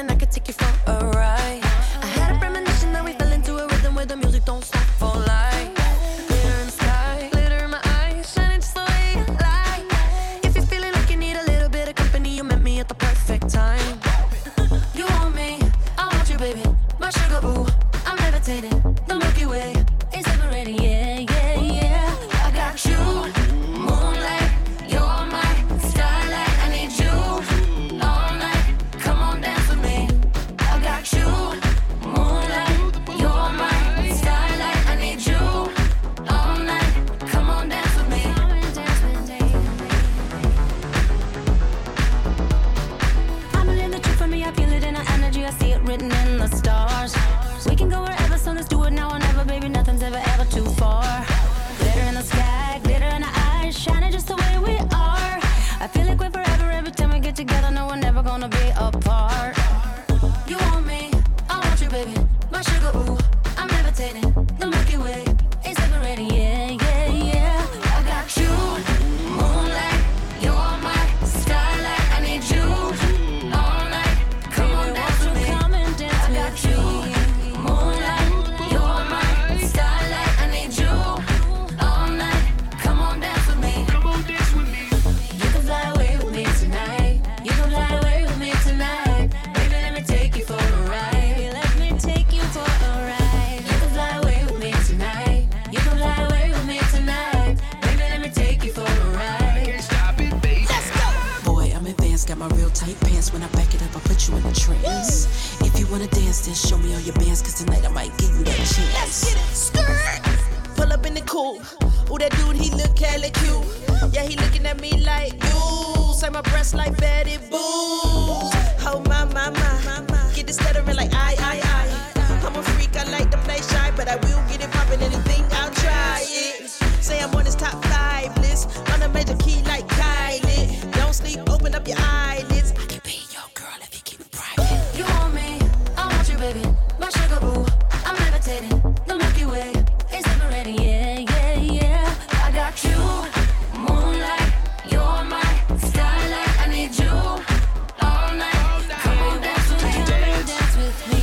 I could take you for a ride. I had a premonition that we fell into a rhythm where the music don't stop for life. Glitter in the sky, glitter in my eyes, shining just the way you like. If you're feeling like you need a little bit of company, you met me at the perfect time. You want me, I want you, baby. My sugar, ooh, I'm levitating. The Milky Way is separating, yeah, yeah, yeah. I got you, moonlight, you're my starlight. I need you all night. Come on, dance with me. I got you, moonlight, you're my starlight. I need you all night. Come on, dance with me. I'm in the truth for me. I feel it in our energy. I see it written in the stars. We can go wherever, so let's do it now or never, baby. Nothing's ever too far. Glitter in the sky, glitter in our eyes, shining just the way we are. I feel like we're forever every time we get together. No, we're never gonna be apart. You want me, I want you, baby. My sugar, ooh, I'm levitating. The Milky Way is separating, yeah, yeah, yeah. I got you, moonlight, you're my starlight. I need you all night. Come on, dance with me. I got you, moonlight, you're my starlight. I need you all night. Come on, dance with me. Come on, dance with me. You can fly away with me tonight. You can fly away with me tonight. Baby, let me take you for a ride. Let me take you for a ride. You can fly away with me tonight. You can fly away with me tonight. Baby, let me take you for a ride. Can't stop it, baby. Let's go. Boy, I'm advanced, got my real tight pants. When I back it up, I put you in a trance. If you wanna dance, then show me all your bands, cause tonight I might give you that chance. Let's get it. Skirt. Pull up in the coupe. Ooh, that dude, he look hella cute. Yeah, he looking at me like you. Say my breasts like Betty Boo. Oh, my. Get it stuttering like I. I'm a freak, I like to play shy, but I will get it poppin', anything, I'll try it. Say I'm on his top 5 list, on a major key like Kylie. Don't sleep, open up your eyelids. I can be your girl if you keep it private. You want me, I want you, baby. My sugar, ooh, I'm levitating. The Milky Way is separating, yeah, yeah, yeah. I got you, moonlight, you're my starlight. I need you all night. Come on, dance with me. Dance with me.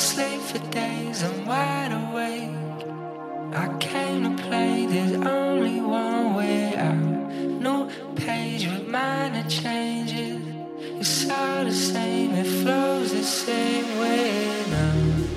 sleep for days, I'm wide awake. I came to play, there's only one way out. New page with minor changes. It's all the same, it flows the same way now.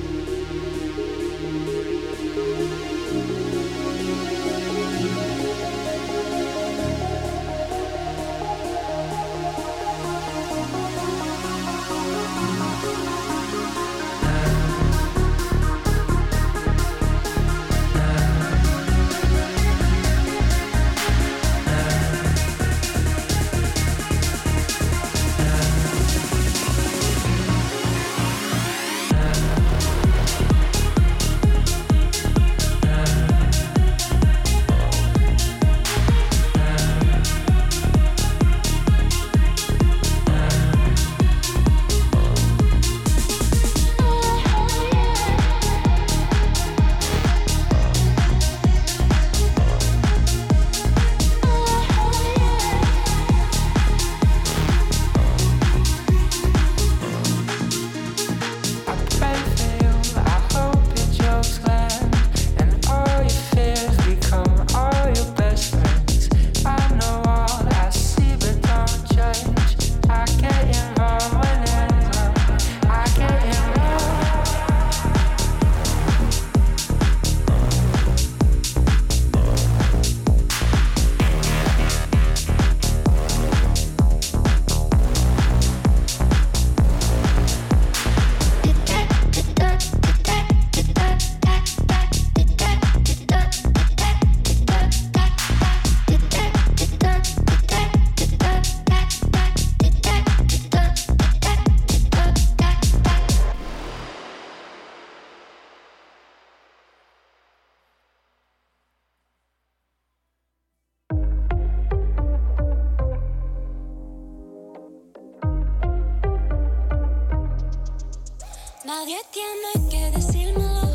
Nadie tiene que decírmelo.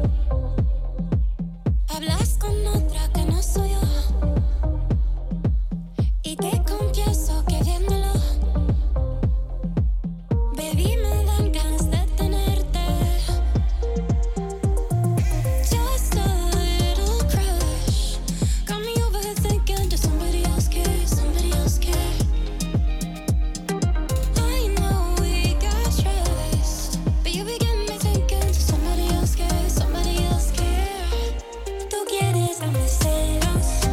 Hablas con otra que no soy yo. Y te confieso que viéndolo, baby, me dan ganas de tenerte. Just a little crush got me overthinking, does somebody else care? Somebody else care? I know we got trust, but you begin me thinking, does somebody else care? Somebody else care? Tú quieres a mis celos.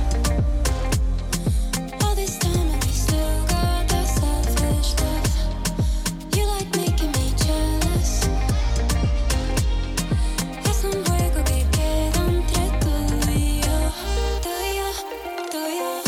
All this time and we still got that selfish love. You like making me jealous. Es un juego que queda entre tú y yo. Tú y yo, tú y yo.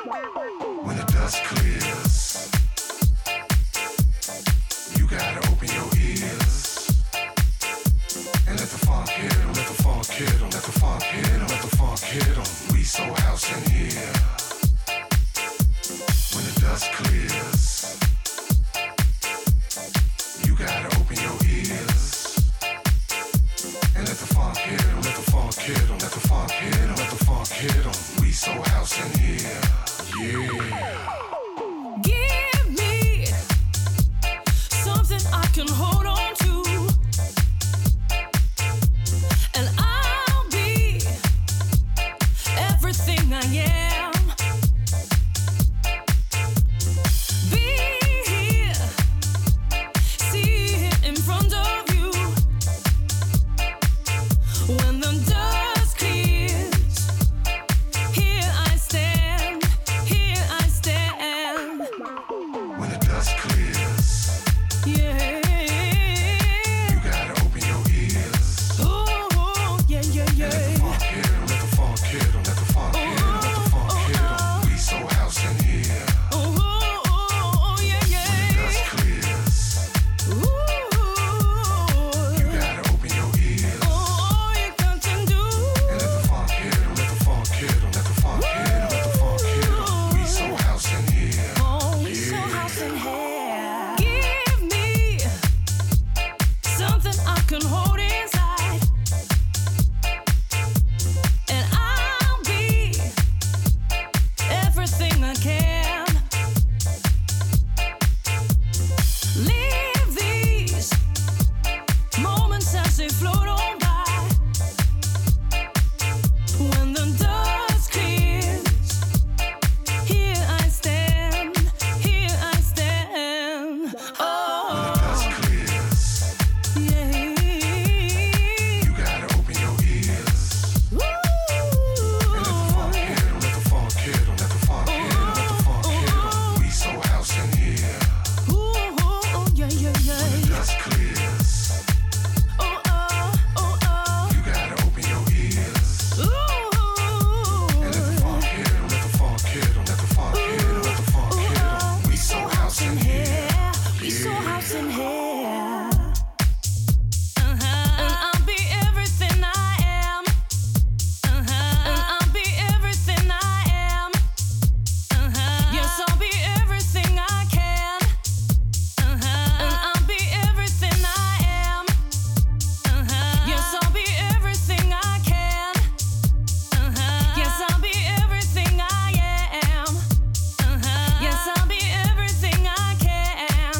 When the dust clears, you gotta open your ears and let the funk hit 'em, let the funk hit 'em, let the funk hit 'em, let the funk hit 'em. We so house in here. When the dust clears, you gotta open your ears and let the funk hit 'em, let the funk hit 'em, let the funk hit 'em, let the funk hit 'em. We so house in here. Yeah. Give me something I can hold on to, and I'll be everything I am. Be here, see it in front of you. When the dust clears, here I stand, here I stand. When the dust clears, Yeah. you gotta open your ears. Oh, yeah, yeah, Let the yeah. funk hit 'em, let the funk hit 'em, let the funk hit 'em, let the funk hit 'em. We so house in here. Oh, yeah, When the yeah. dust clears, you gotta open your ears Oh, you got to do. and let the funk hit 'em, let the funk hit 'em, let the funk hit 'em, let the funk hit 'em. We so house in here. Oh, we so house in here. Give me something I can hold inside, and I'll be everything I can. Leave these moments as they float on by. When the dust clears, here I stand, here I stand. When the Oh, dust clears, yeah. you gotta open your ears and let the funk hit 'em, let the funk hit 'em, let the funk hit 'em, let the funk hit 'em. We so house in here. Ooh, yeah, yeah, When the yeah. dust clears, you gotta open your ears and let the funk hit 'em, let the funk hit 'em, let the funk hit 'em, let the funk hit 'em. We so house in here. We so house in here. And I'll be everything I am. And I'll be everything I am. Yes, I'll be everything I can. And I'll be everything I am. Yes, I'll be everything I can. Yes, I'll be everything I am. Yes, I'll be everything I can.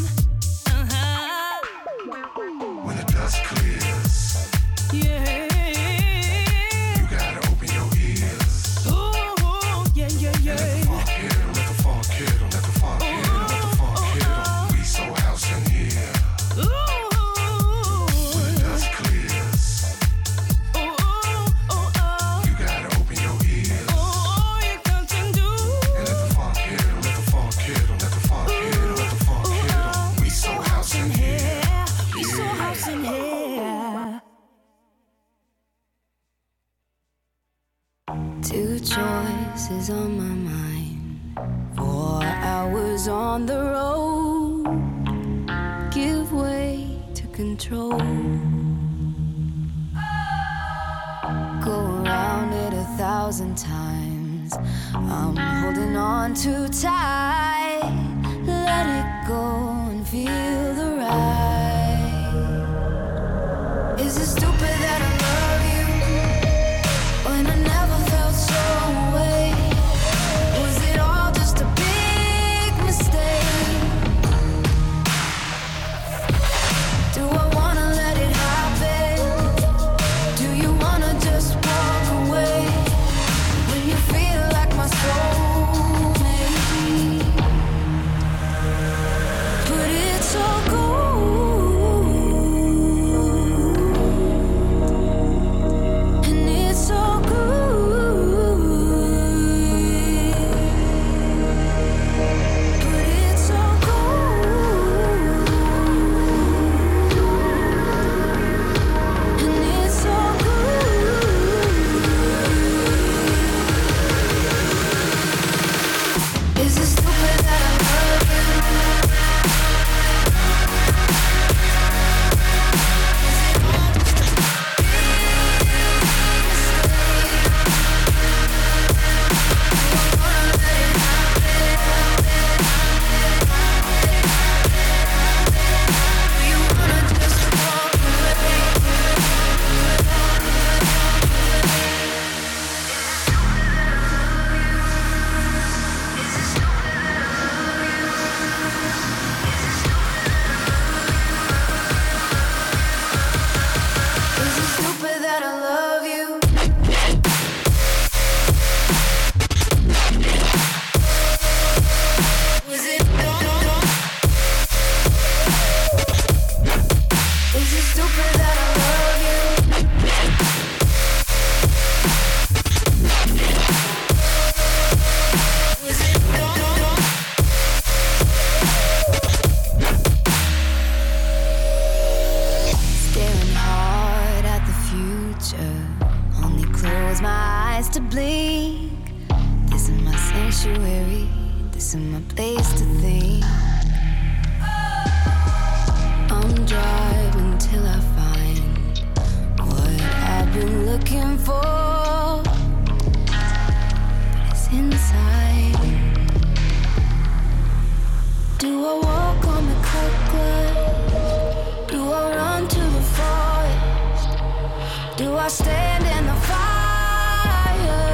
When the dust clears, Yeah. you gotta open your ears Ooh, yeah, yeah, and let the yeah. funk hit 'em, let the funk hit 'em, let the funk hit 'em, let the funk hit 'em. We so house in here. When the dust clears, you gotta open your ears Oh, you got to do. and let the funk hit 'em, let the funk hit 'em, let the funk hit 'em, let the funk hit 'em. We so house in here. We so house in here. Two choices on my mind. 4 hours on the road. Give way to control. Go around it 1,000 times. I'm holding on too tight. Let it go and feel the ride. Is it stupid that I love you when I never felt so away? Was it all just a big mistake? Do I wanna let it happen? Do you wanna just walk away when you feel like my soulmate? But it's okay. close my eyes to blink. This is my sanctuary, this is my place to think. I'm driving till I find what I've been looking for, but it's inside. Do I walk on the cloud? Do I run to the forest? Do I stand in the fire?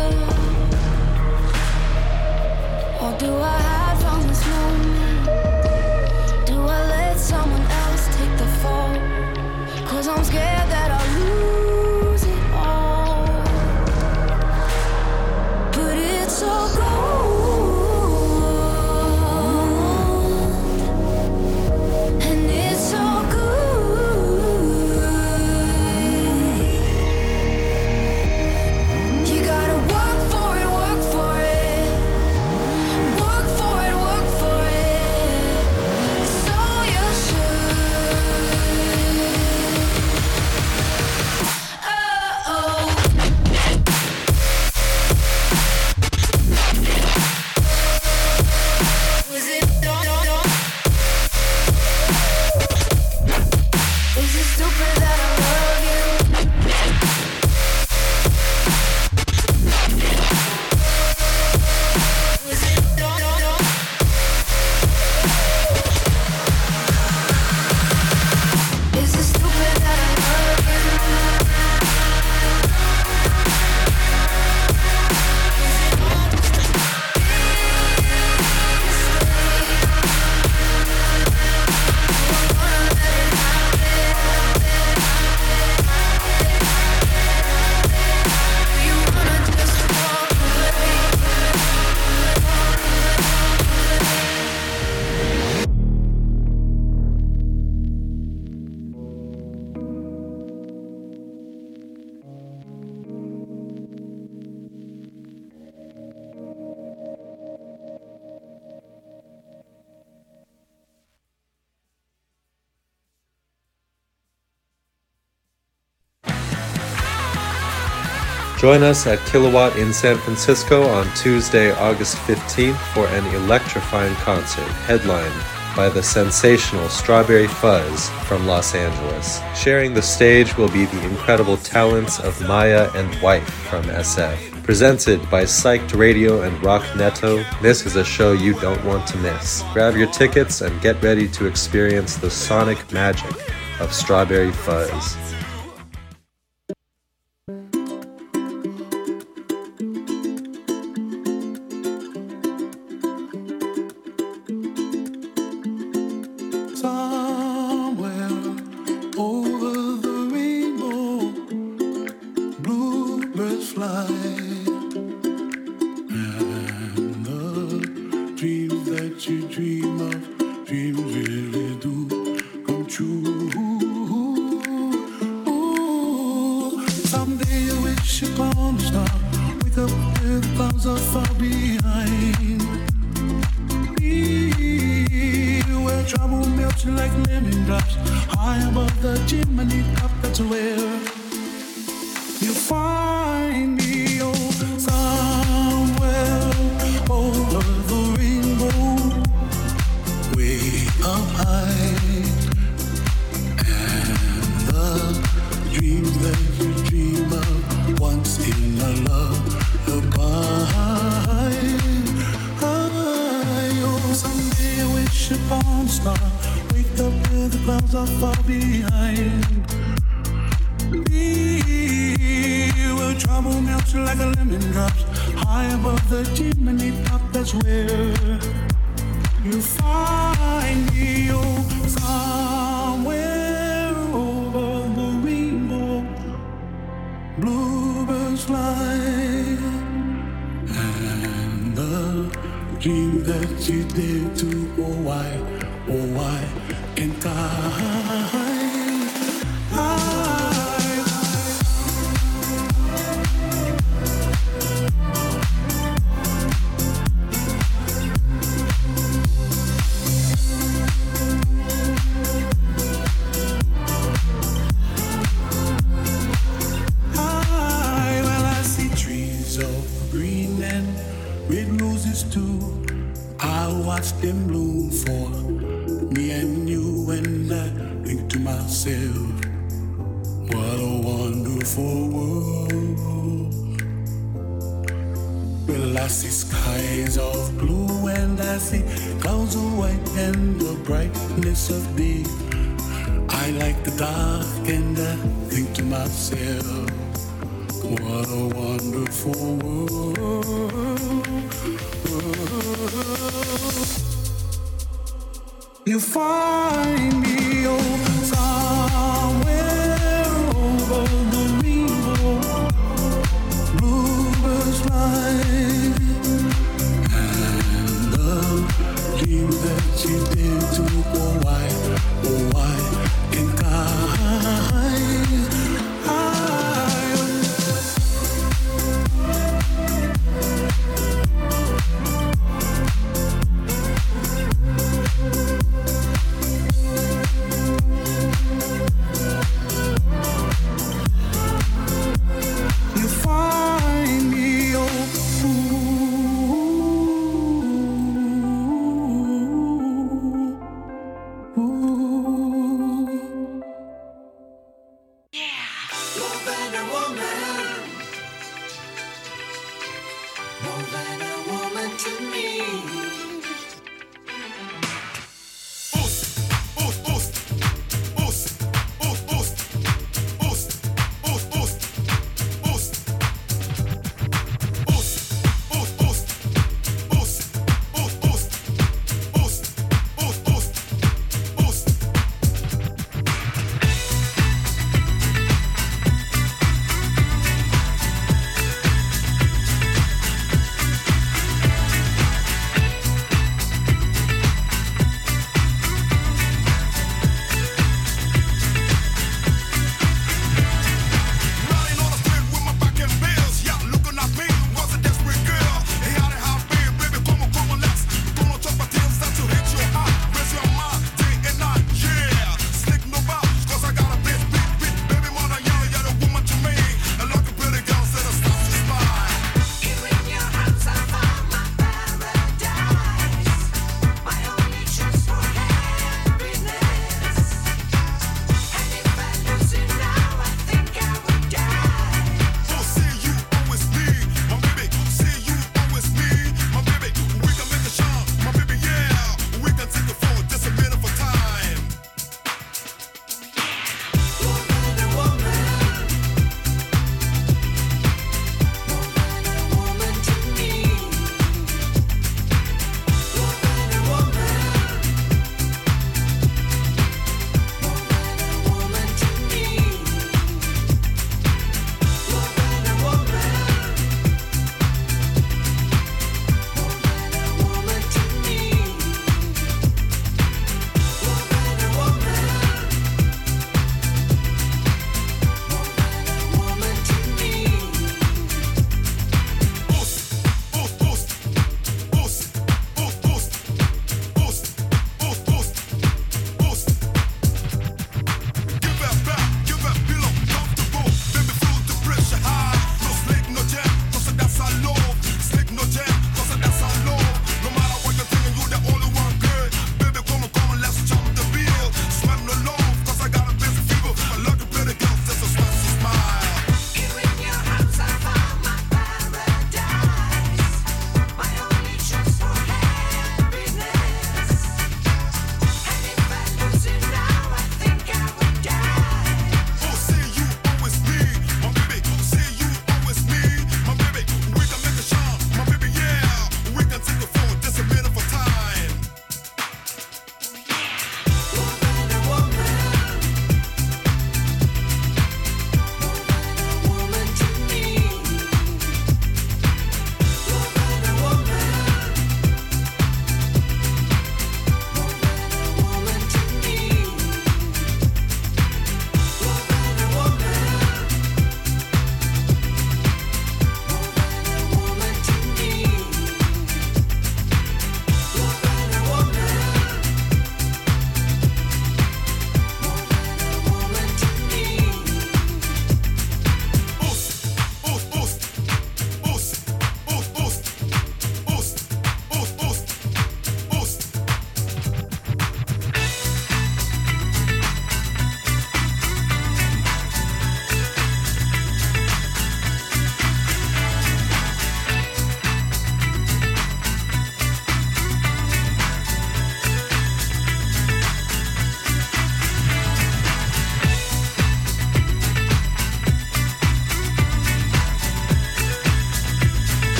Or do I hide from this moment? Do I let someone else take the fall? 'Cause I'm scared that I'll lose it all. But it's all gone. Join us at Kilowatt in San Francisco on Tuesday, August 15th for an electrifying concert headlined by the sensational Strawberry Fuzz from Los Angeles. Sharing the stage will be the incredible talents of Maya and Wife from SF. Presented by Psyched Radio and Rock Neto, this is a show you don't want to miss. Grab your tickets and get ready to experience the sonic magic of Strawberry Fuzz. with roses too. I watch them bloom for me and you, and I think to myself, what a wonderful world. Well, I see skies of blue and I see clouds of white and the brightness of day. I like the dark and I think to myself, what a wonderful world. You find me somewhere over the rainbow, bluebirds fly, and the dream that you did to oh why can't I?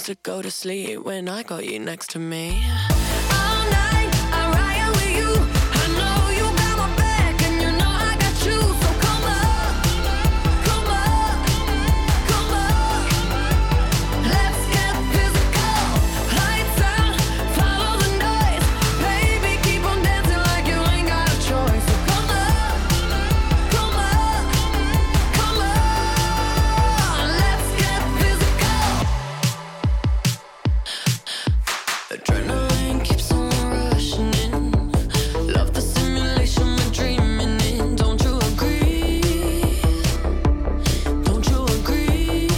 to go to sleep when I got you next to me. All night I ride with you. I know you got my back and you know I got you. So come up, come up, come up. Let's get physical. Lights out, follow the noise. Baby, keep on dancing like you ain't got a choice. So come up, come up, come on. Let's get physical. Adrenaline keeps on rushing in. Love the simulation we're dreaming in. Don't you agree? Don't you agree?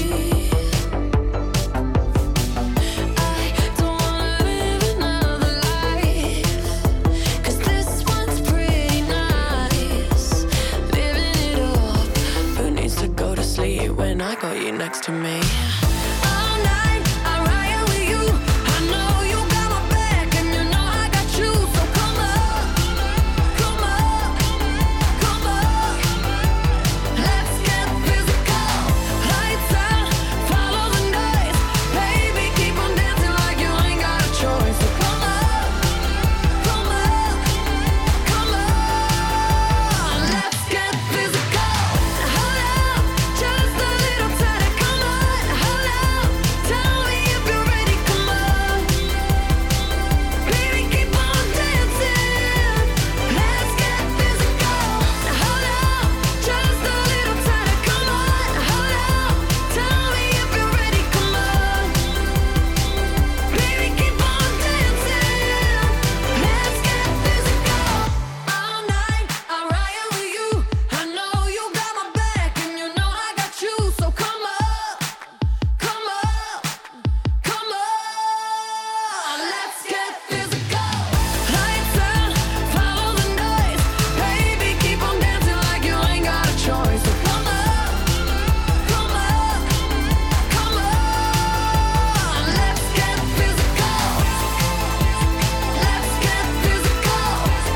I don't wanna live another life, 'cause this one's pretty nice. Living it up. Who needs to go to sleep when I got you next to me? All night I ride with you. I know you got my back and you know I got you. So come up, come up, come up. Let's get physical. Lights out, follow the noise. Baby, keep on dancing like you ain't got a choice. So come up, come up, come on. Let's get physical. Hold up, just a little tighter. Come on, hold up. Tell me if you're ready. Come on, baby, keep on dancing. Let's get physical. Hold up, just a little tighter. Come on, hold up. Tell me if you're ready. Come on, baby, keep on dancing. Let's get physical. All night I ride with you. I know you got my back and you know I got you. So come up, come up, come on. Let's get physical. Lights out, follow the noise. Baby, keep on dancing like you ain't got a choice. So come up, come up, come on. Let's get physical. Let's get physical.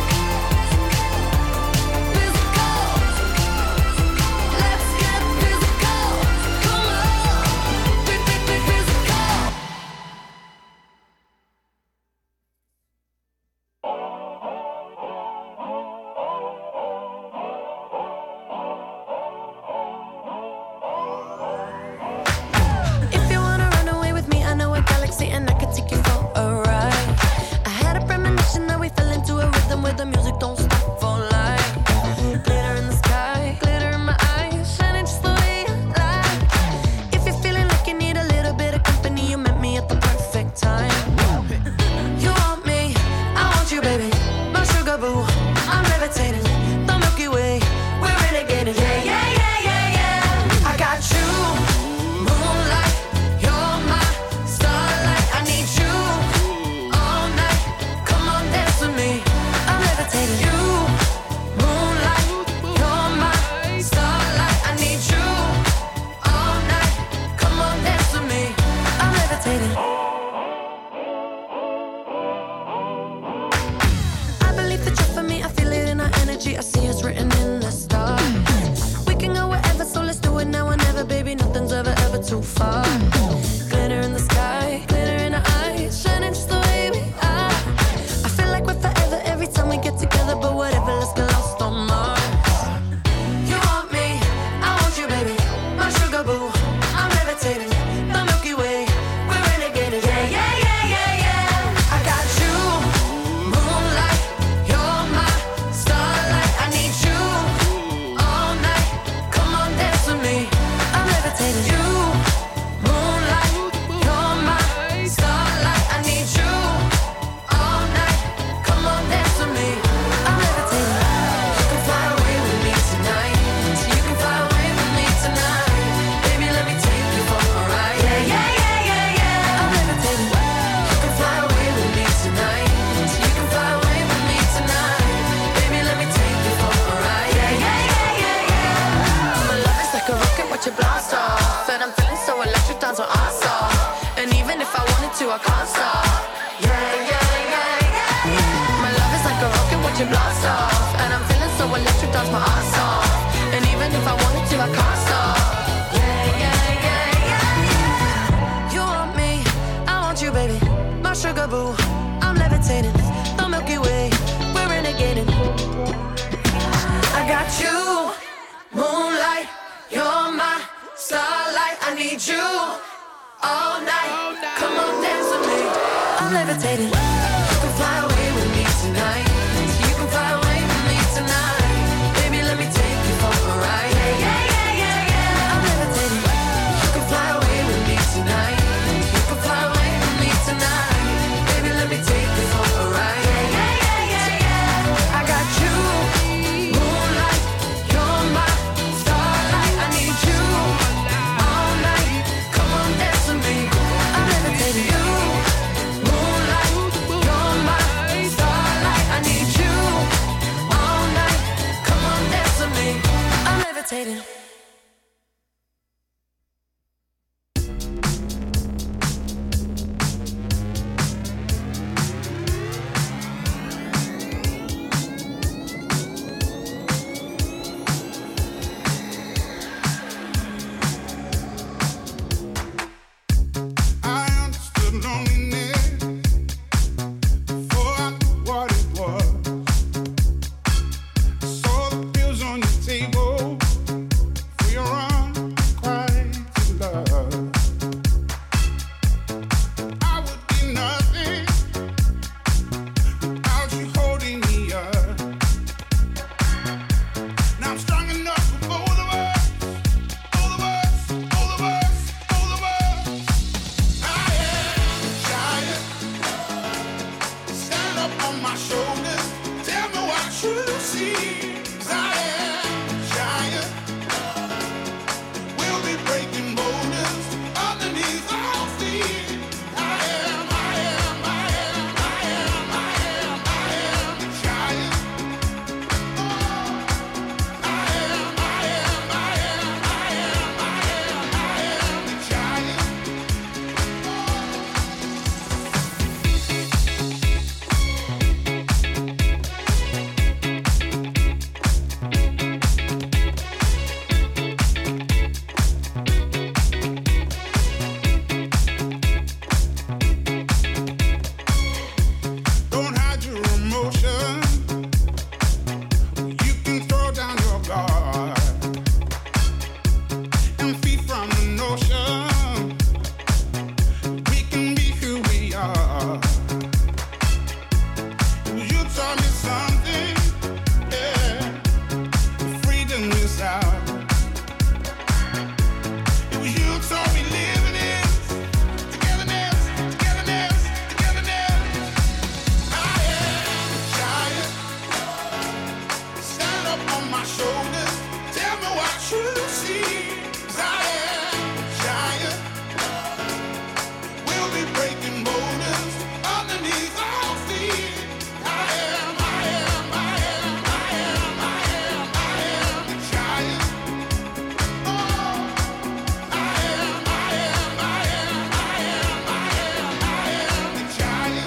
Physical. Let's get physical. Come on. Physical. If you wanna run away with me, I know a galaxy and I can take you for a ride. I had a premonition that we fell into a rhythm where the music don't stop for life. Glitter in the sky, glitter in my eyes, shining just the way you like. If you're feeling like you need a little bit of company, you met me at the perfect time. You want me, I want you, baby. My sugar boo, I'm levitating. The Milky Way, we're renegading. Yeah, yeah, yeah, yeah, yeah. I got you, moonlight. You're my starlight. I need you all night. Come on, dance with me. I'm levitating. You, moonlight. You're my starlight. I need you all night. Come on, dance with me. I'm levitating. I believe that you're for me. I feel it in our energy. I see us written in the stars. We can go wherever, so let's do it now or never, baby. Nothing's ever, ever too far. Glitter in the sky, glitter in our eyes, shining just the way we are. I feel like we're forever every time we get together, but whatever, let's get lost on Mars. You want me, I want you, baby. My sugar boo, I'm levitating. The Milky Way, we're renegading. Yeah, yeah, yeah, yeah, yeah. I got you, moonlight. You're my starlight. I need you all night. Come on, dance with me. I'm levitating. You, moonlight. You're my starlight. I need you all night. Come on, dance with me. I'm levitating. You can fly away with me tonight. You can fly away with me tonight. Baby, let me take you for a ride. Yeah, yeah, yeah, yeah, yeah. I'm levitating. You can fly away with me tonight. You can fly away with me tonight. Baby, let me take you for a ride. Yeah, yeah, yeah, yeah, yeah. My love is like a rocket, watch it blast off. And I'm feeling so electric, dance on our off. And even if I wanted to, I can't stop. Yeah, yeah, yeah, yeah. My love is like a rocket, watch it blast off. And I'm feeling so electric, dance my ass off. And even if I wanted to, I can't stop. Yeah, yeah, yeah, yeah, yeah. You want me, sugar boo. I'm levitating, the Milky Way, we're renegading. I got you, moonlight, you're my starlight. I need you all night. Come on, dance with me. I'm levitating. You can fly away with me tonight. You can fly away with me tonight. Baby, let me take you for a ride. Yeah, yeah, yeah, yeah, yeah. I'm levitating. You can fly away with me tonight. You can fly away with me tonight. Baby, let me take you for a ride. Yeah, yeah, yeah, yeah, yeah. I got you, moonlight, you're my starlight. I need you all night. Come on, dance with me. I'm levitating. You, moonlight, you're my starlight. I need you all night. Come on, dance with me. I'm levitating. I understood loneliness before I knew what it was. I saw the bills on your table for your unrequited love. I would be nothing without you holding me up. Now I'm strong enough for both of us, both of us, both of us, both of us. I am a giant. Stand up on my shoulders. Tell me what you see. 'Cause I am a giant. We'll be breaking boulders underneath our feet. I am a giant. I am a giant. Don't hide your emotion. You can throw down your guard and feed from the notion. We can be who we are. You taught me something, yeah. Freedom is out. It was you taught me living is togetherness, togetherness, togetherness. I am a giant. Stand up on my shoulders. Tell me what you see. 'Cause I am a giant. We'll be breaking boulders underneath our feet. I am a giant. Oh, I am a giant.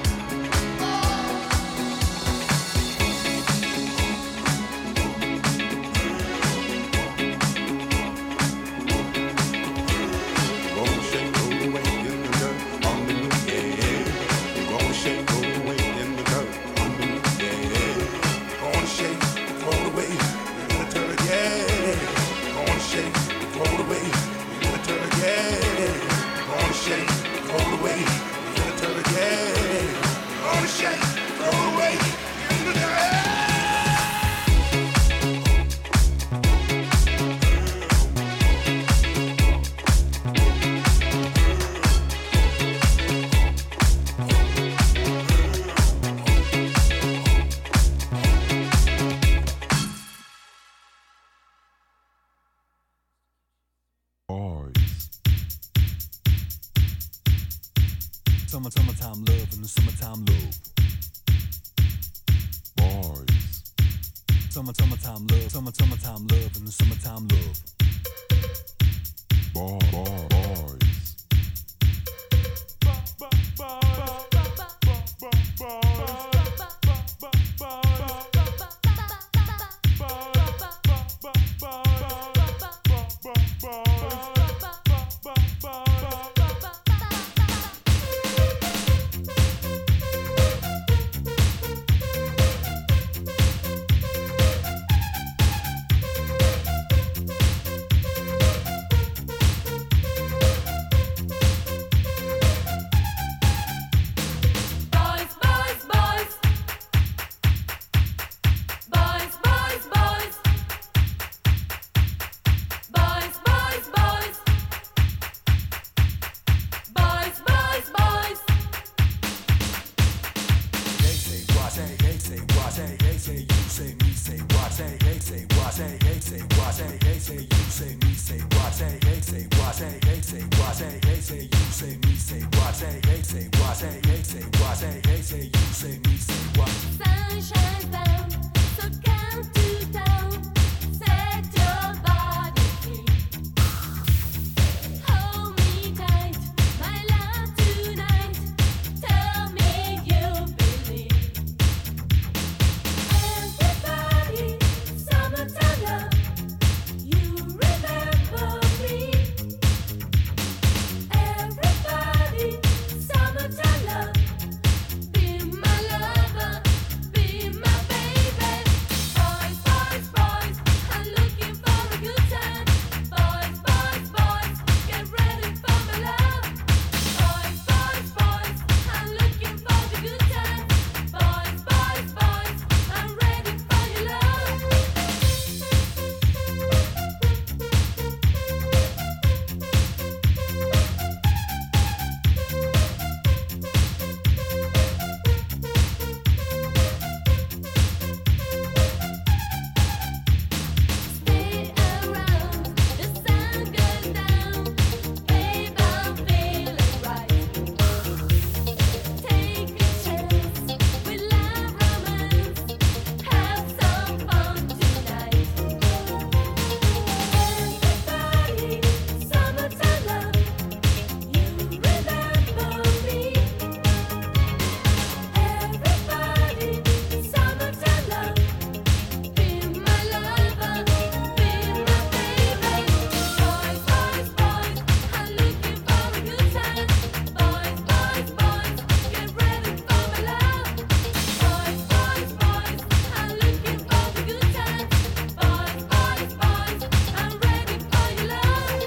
Gonna shake, roll away in the dirt on the new, yeah. Gonna shake, roll away in the dirt on the new, yeah. Gonna shake, roll away in the dirt, yeah. Gonna shake, roll away in the dirt, yeah. Gonna shake, roll away in the dirt, yeah. Gonna shake, roll away in the dirt. Summertime love and the summertime love. Boys. Summertime love, summertime love and the summertime love. Boys. say hey, say what, say hey, say you, say me, say what, say hey, say what, say hey, say what, say hey, say you, say me, say what. Sun shines down, so count to down. Set your body free. Hold me tight, my love tonight. Tell me you believe. Everybody, summertime love. You remember me. Everybody, summertime love. Be my lover, be my baby. Boys, boys, boys, I'm looking for a good time. Boys, boys, boys, get ready for my love. Boys, boys, boys, I'm looking for the good time. Boys, boys, boys, I'm ready for your love. Stay around, the sun goes down. Babe, I'm feeling right. Take a chance, we love romance. Have some fun tonight. Everybody, summertime love. You remember me. Everybody, summertime love. Be my lover, be my baby. Boys, boys, boys, I'm looking for a good time. Boys, boys, boys, get ready for my love. Boys, boys, boys, I'm looking for the good time. Boys, boys, boys, I'm ready for your love.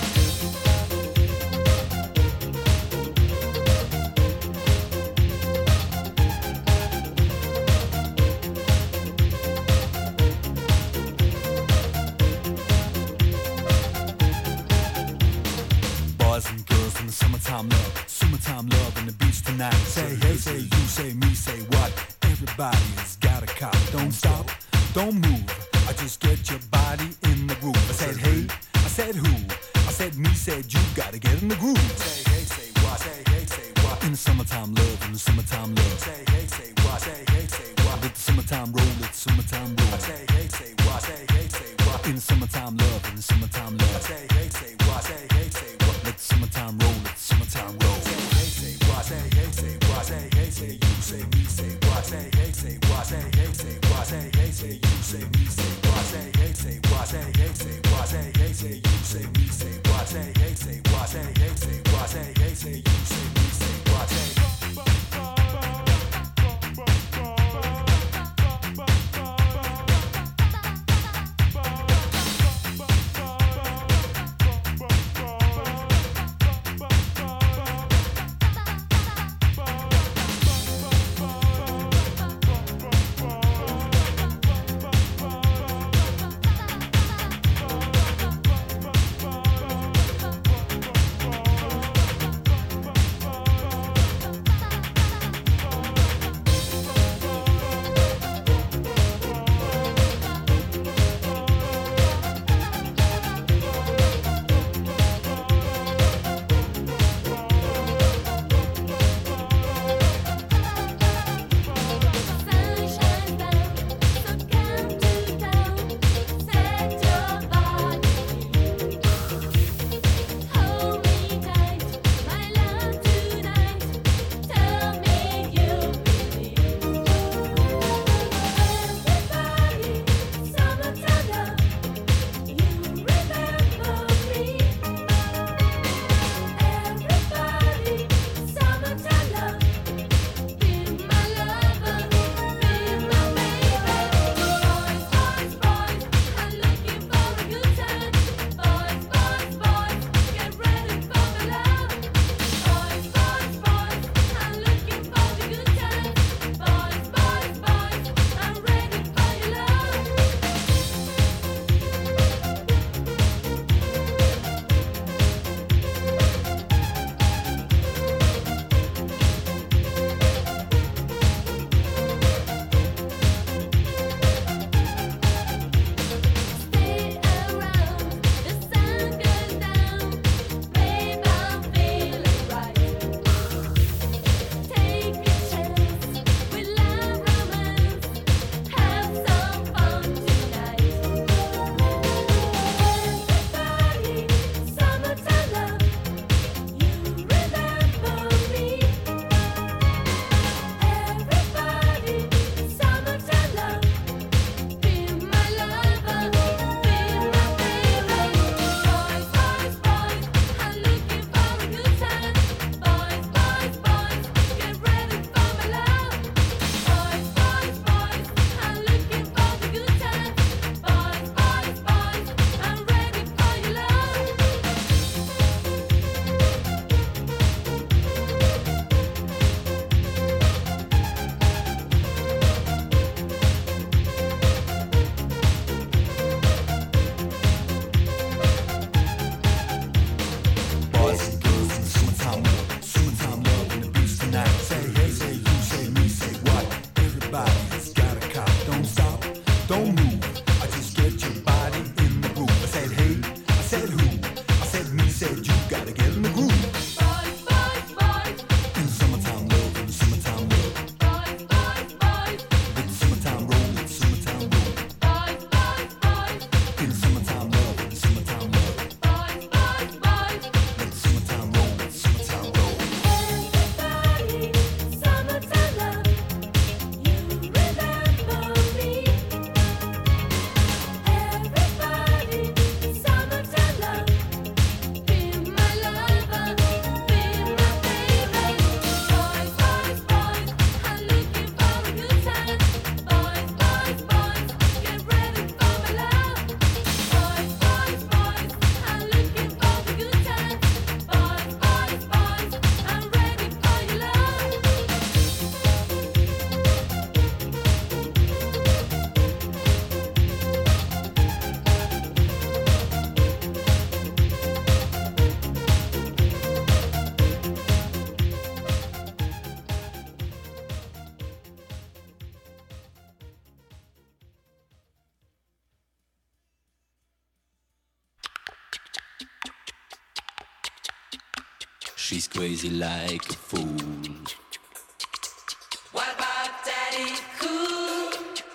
Boys and girls in the summertime love in the beach tonight. Say hey, say you, say me, say what. Everybody's got a cop. Don't stop, don't move. I just get your body in the groove. I said hey, I said who, I said me, said you. Gotta get in the groove. Say hey, say what, say hey, say what. In the summertime love, in the summertime love. Say hey, say what, say hey, say what. Let the summertime roll, let the summertime roll. Say hey, say what, say hey, say what. In the summertime love, in the summertime love. Say hey, say what, say hey, say what. Let the summertime roll, let the summertime roll. Say hey, say what, say hey, say what. Say hey, say you, say me, say what. Say hey, say what, say hey, say what. Say hey, say you, say me, say what. Say hey, say what, say hey, say what. Say hey, say you, say me, say what. Say hey, say what, say hey, say what. Say hey, say you, say me, say what. She's crazy like a fool. What about Daddy Cool?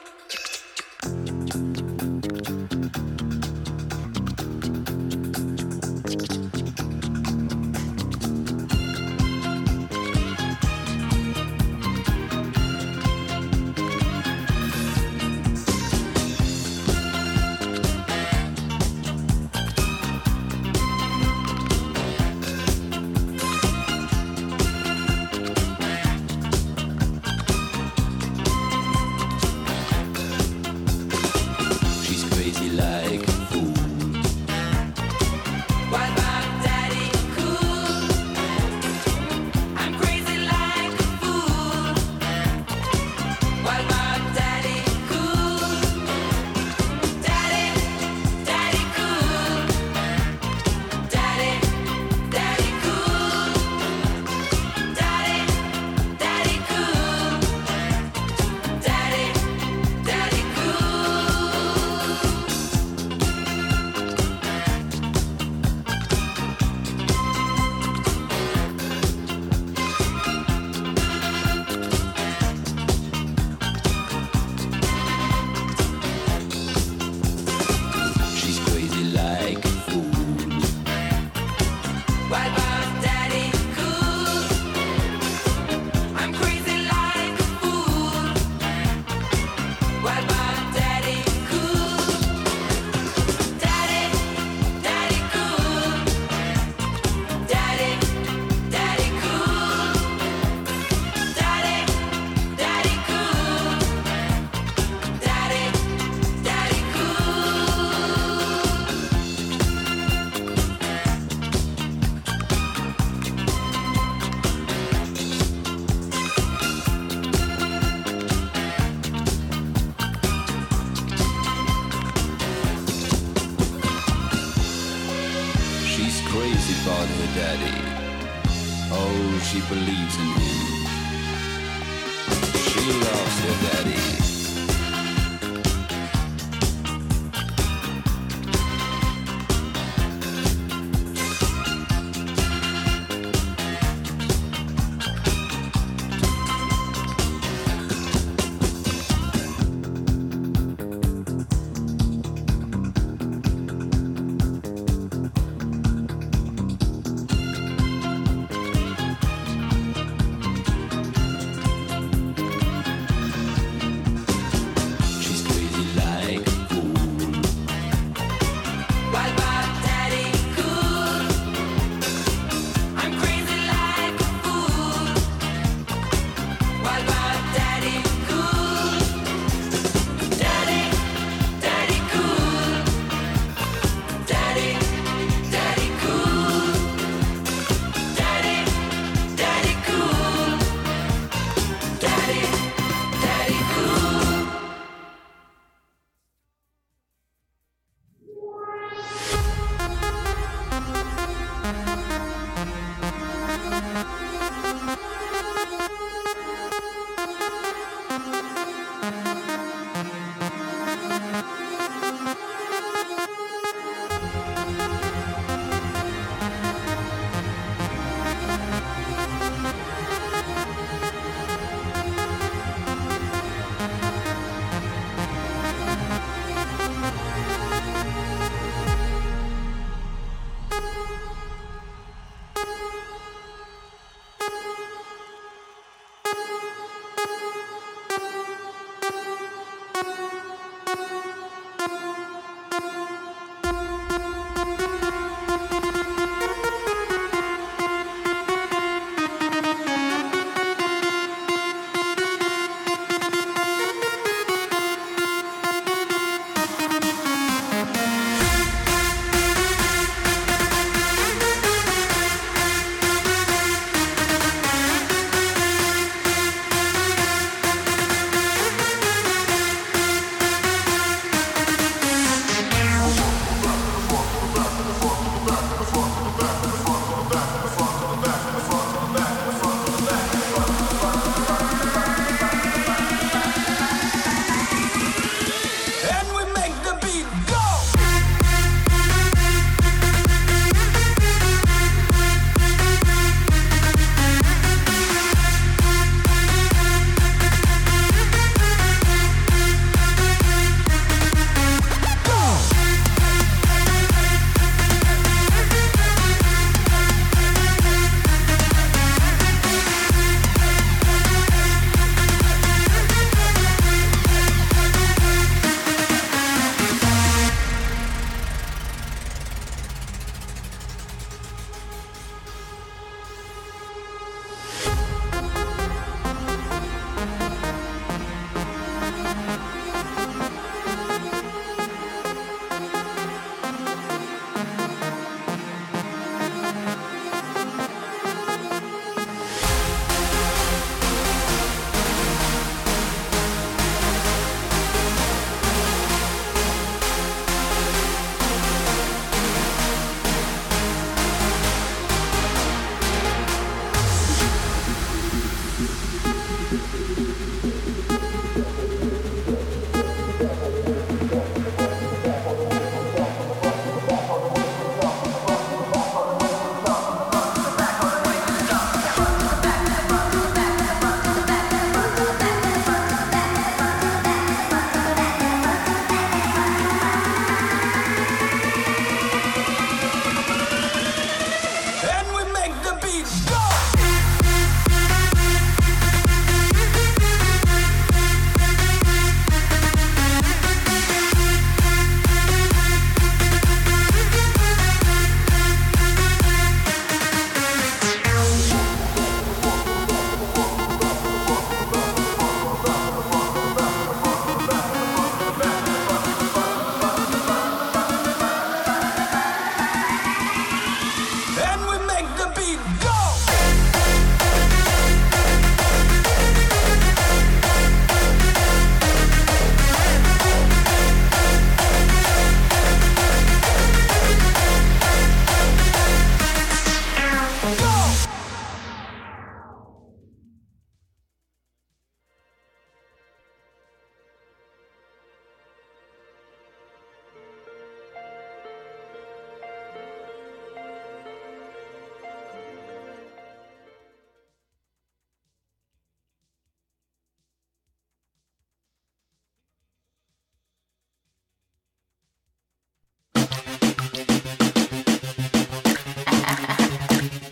She believes in him. She loves her daddy.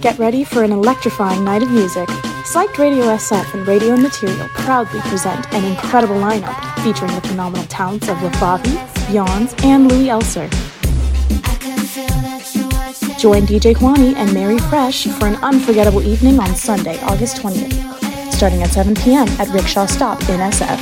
Get ready for an electrifying night of music. Psyched Radio SF and Radio Material proudly present an incredible lineup featuring the phenomenal talents of LaFavi, Yawns, and Louis Elser. Join DJ Juani and Mary Fresh for an unforgettable evening on Sunday, August 20th, starting at 7 p.m. at Rickshaw Stop in SF.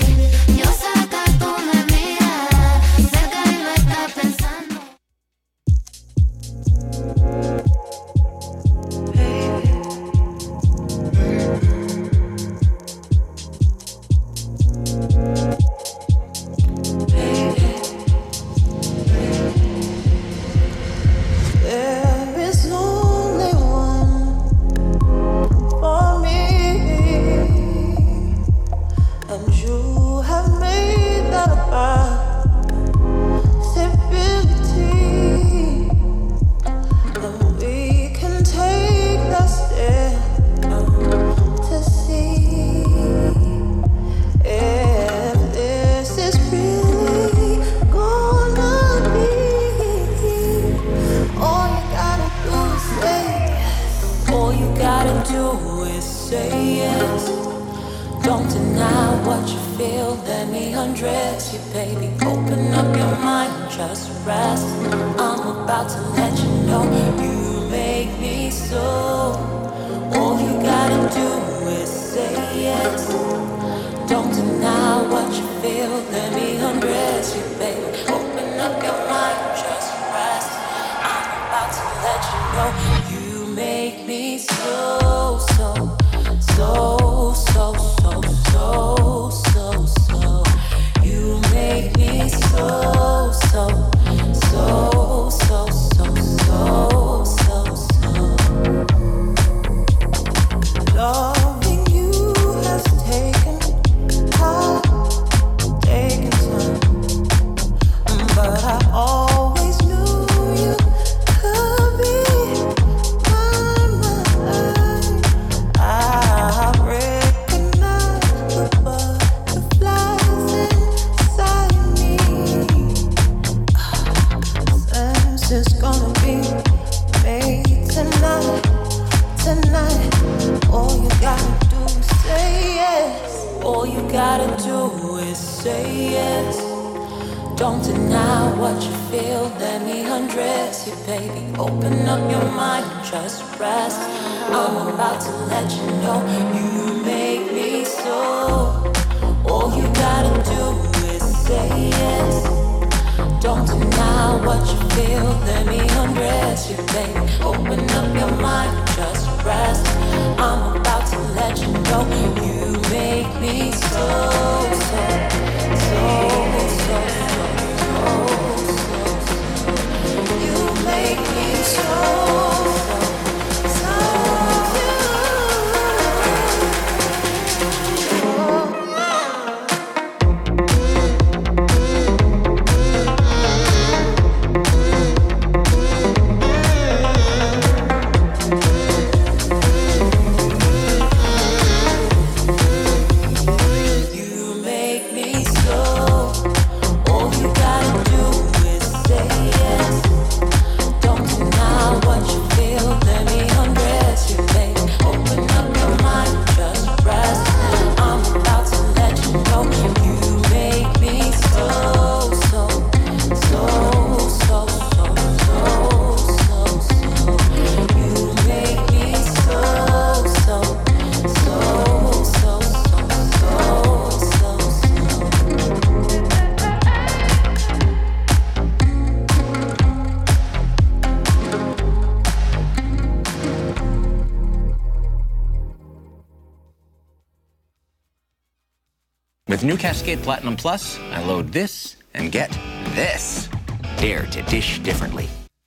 With new Cascade Platinum Plus, I load this and get this. Dare to dish differently.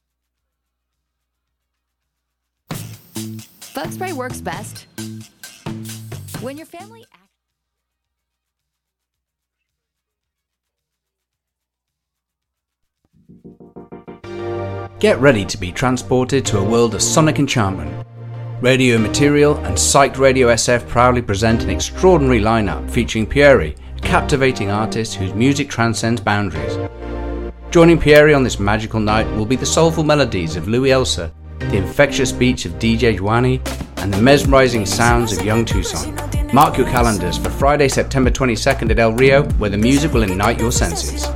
Bug spray works best when your family... Get ready to be transported to a world of sonic enchantment. Radio Material and Psyched Radio SF proudly present an extraordinary lineup featuring Pieri, a captivating artist whose music transcends boundaries. Joining Pieri on this magical night will be the soulful melodies of Louis Elser, the infectious beats of DJ Juani, and the mesmerizing sounds of Young Tucson. Mark your calendars for Friday, September 22nd at El Rio, where the music will ignite your senses.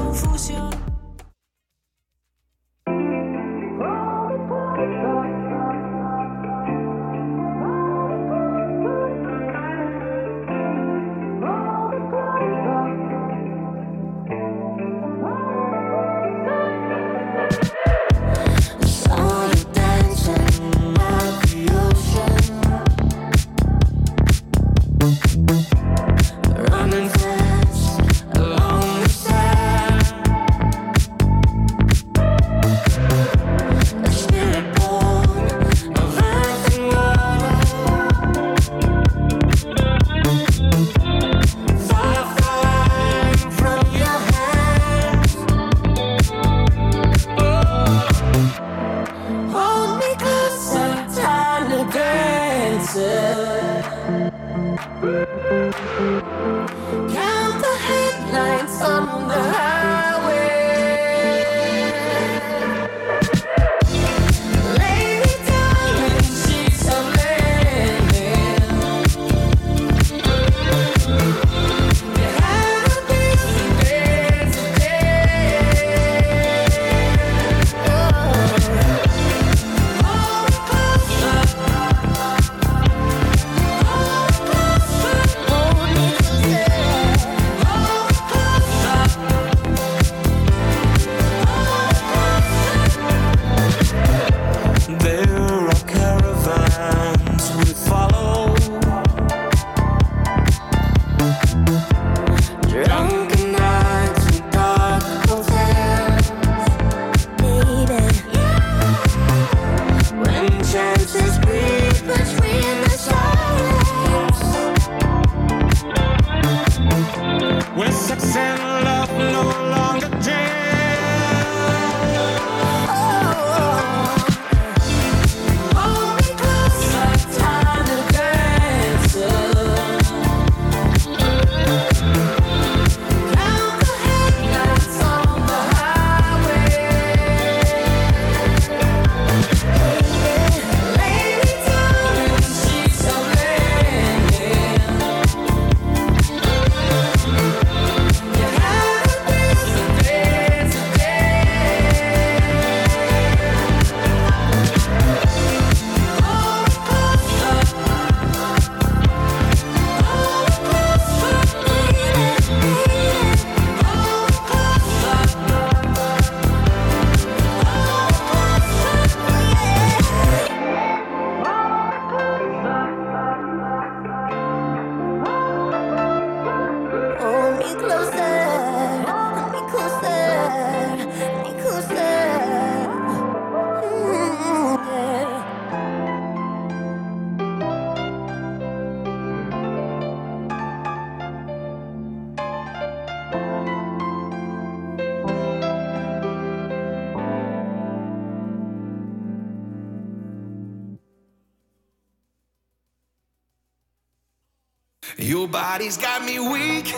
Your body's got me weak.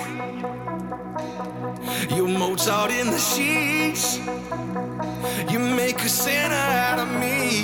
You're Mozart in the sheets. You make a sinner out of me.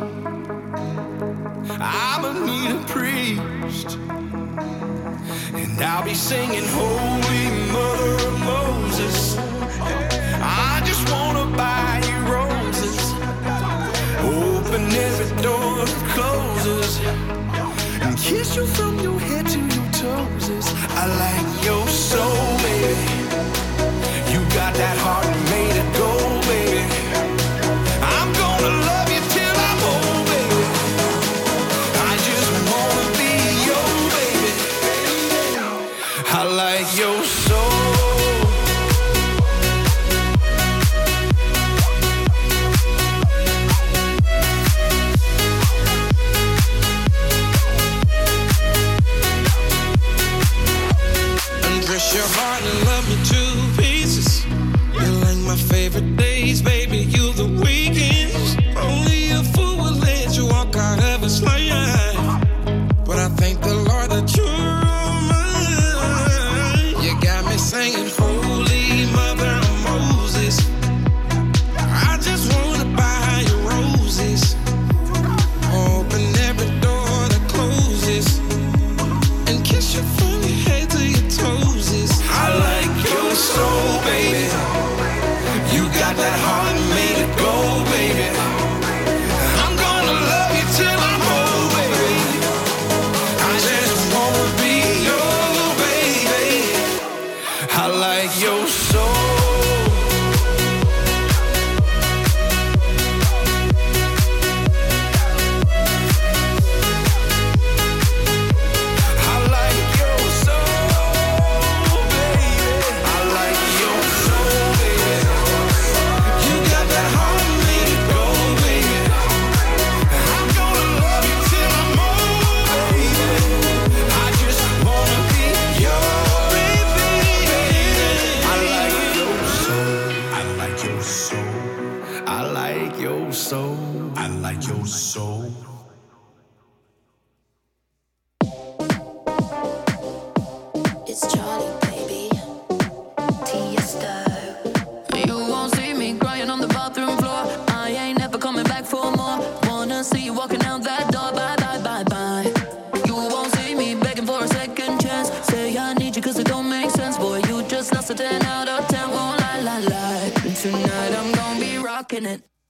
I'ma need a priest, and I'll be singing Holy Mother of Moses. I just wanna buy you roses, open every door that closes, and kiss you from your head to your toes. I like your soul, baby. You got that heart and made it go, baby. I'm gonna love you till I'm old, baby. I just wanna be your baby. I like your soul. Your heart and love me to pieces. You're like my favorite days, baby. You the weekends. Only a fool would let you walk out of his life. But I thank the Lord that you're all mine. You got me singing Holy Mother of Moses. I just wanna buy you roses,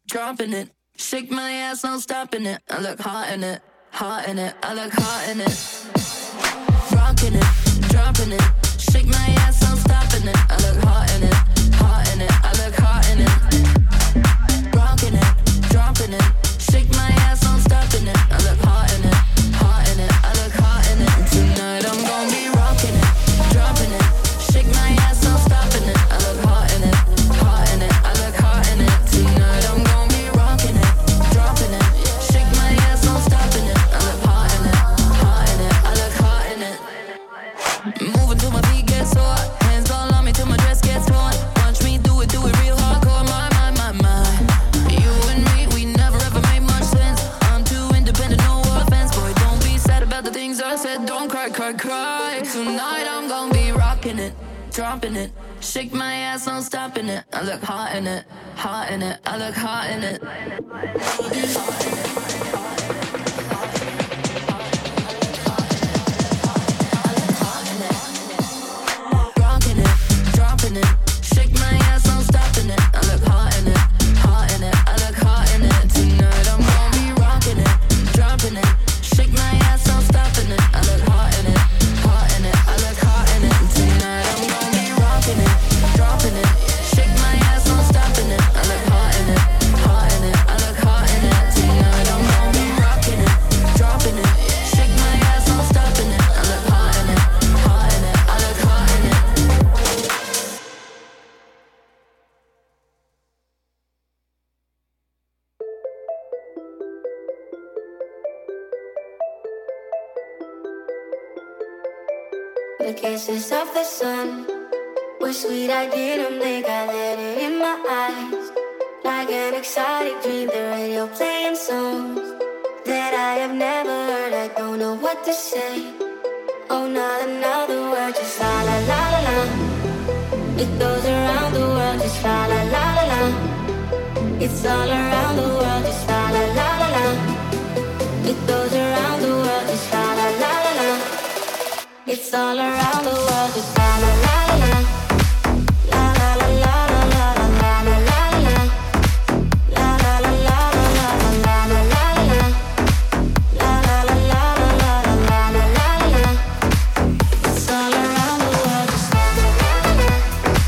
dropping it. Shake my ass, no stopping it. I look hot in it, hot in it. I look hot in it. Rocking it, dropping it. Shake my ass, no stopping it. I look hot in it, hot in it. I look hot in it. Rocking it, dropping it. Shake my ass, no stopping it. I look hot in it, hot in it. I look hot in it. Tonight I'm gonna be rocking it, dropping it. Shake my ass, no stopping it. I look hot in it, hot in it. I look hot in it. Tonight I'm gonna be rocking it, dropping it. Shake my ass, no stopping it. I look hot in it, hot in it. I look hot in it. Moving till my feet get sore. Hands all on me till my dress gets torn. Watch me do it real hardcore. My. You and me, we never ever made much sense. I'm too independent, no offense. Boy, don't be sad about the things I said. Don't cry, cry, cry. Tonight I'm gonna be rocking it, dropping it. Shake my ass, no stopping it. I look hot in it, hot in it. I look hot in it. Rocking it, dropping it. Shake my ass, no stopping it. I look hot in it, hot in it. I look hot in it. Tonight I'm gonna be rocking it, dropping it. Shake my ass, no stopping it. I look hot in it, hot in it. I look hot in it. Tonight I'm gonna be rocking it, dropping it. Shake my ass, no stopping it. I look hot in it, hot in it. I look hot in it. Tonight I'm gonna be rocking it, dropping it. Shake my ass, no stopping it. I look hot in it, hot in it. I look hot in it. The kisses of the sun were sweet, I didn't blink, I let it in my eyes. Like an exotic dream, the radio playing songs that I have never heard, I don't know what to say. Oh, not another word, just la la la la la. It goes around the world, just la la la la la. It's all around the world, just la la la la la. It goes around the world, just la la la la la. It's all around the world, just la la la la la. La la la la la la la la la la. La la la la la la la la la la. La la la la la la la la la la. It's all around the world, just la la la la la.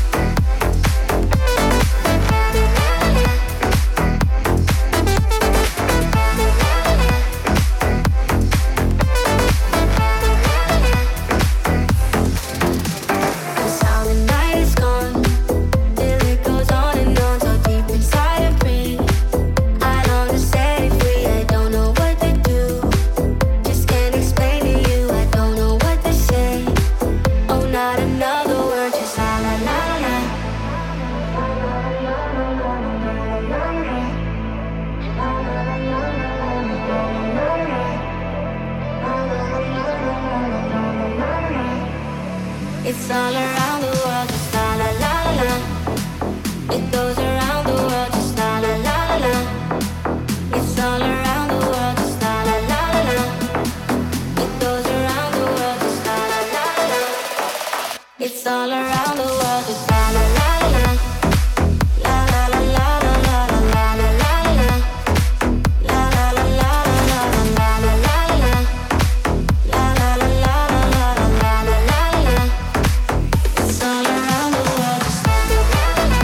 It's all around the world, just la la la la la. It goes around the world, just la la la la la. It's all around the world, just la la la la la. It goes around the world, just la la la la la. It's all around the world, just la la la la la. La la la la la la la la la la. La la la la la la la la la la. La la la la la la la la la. It's all around the world, just la la la la.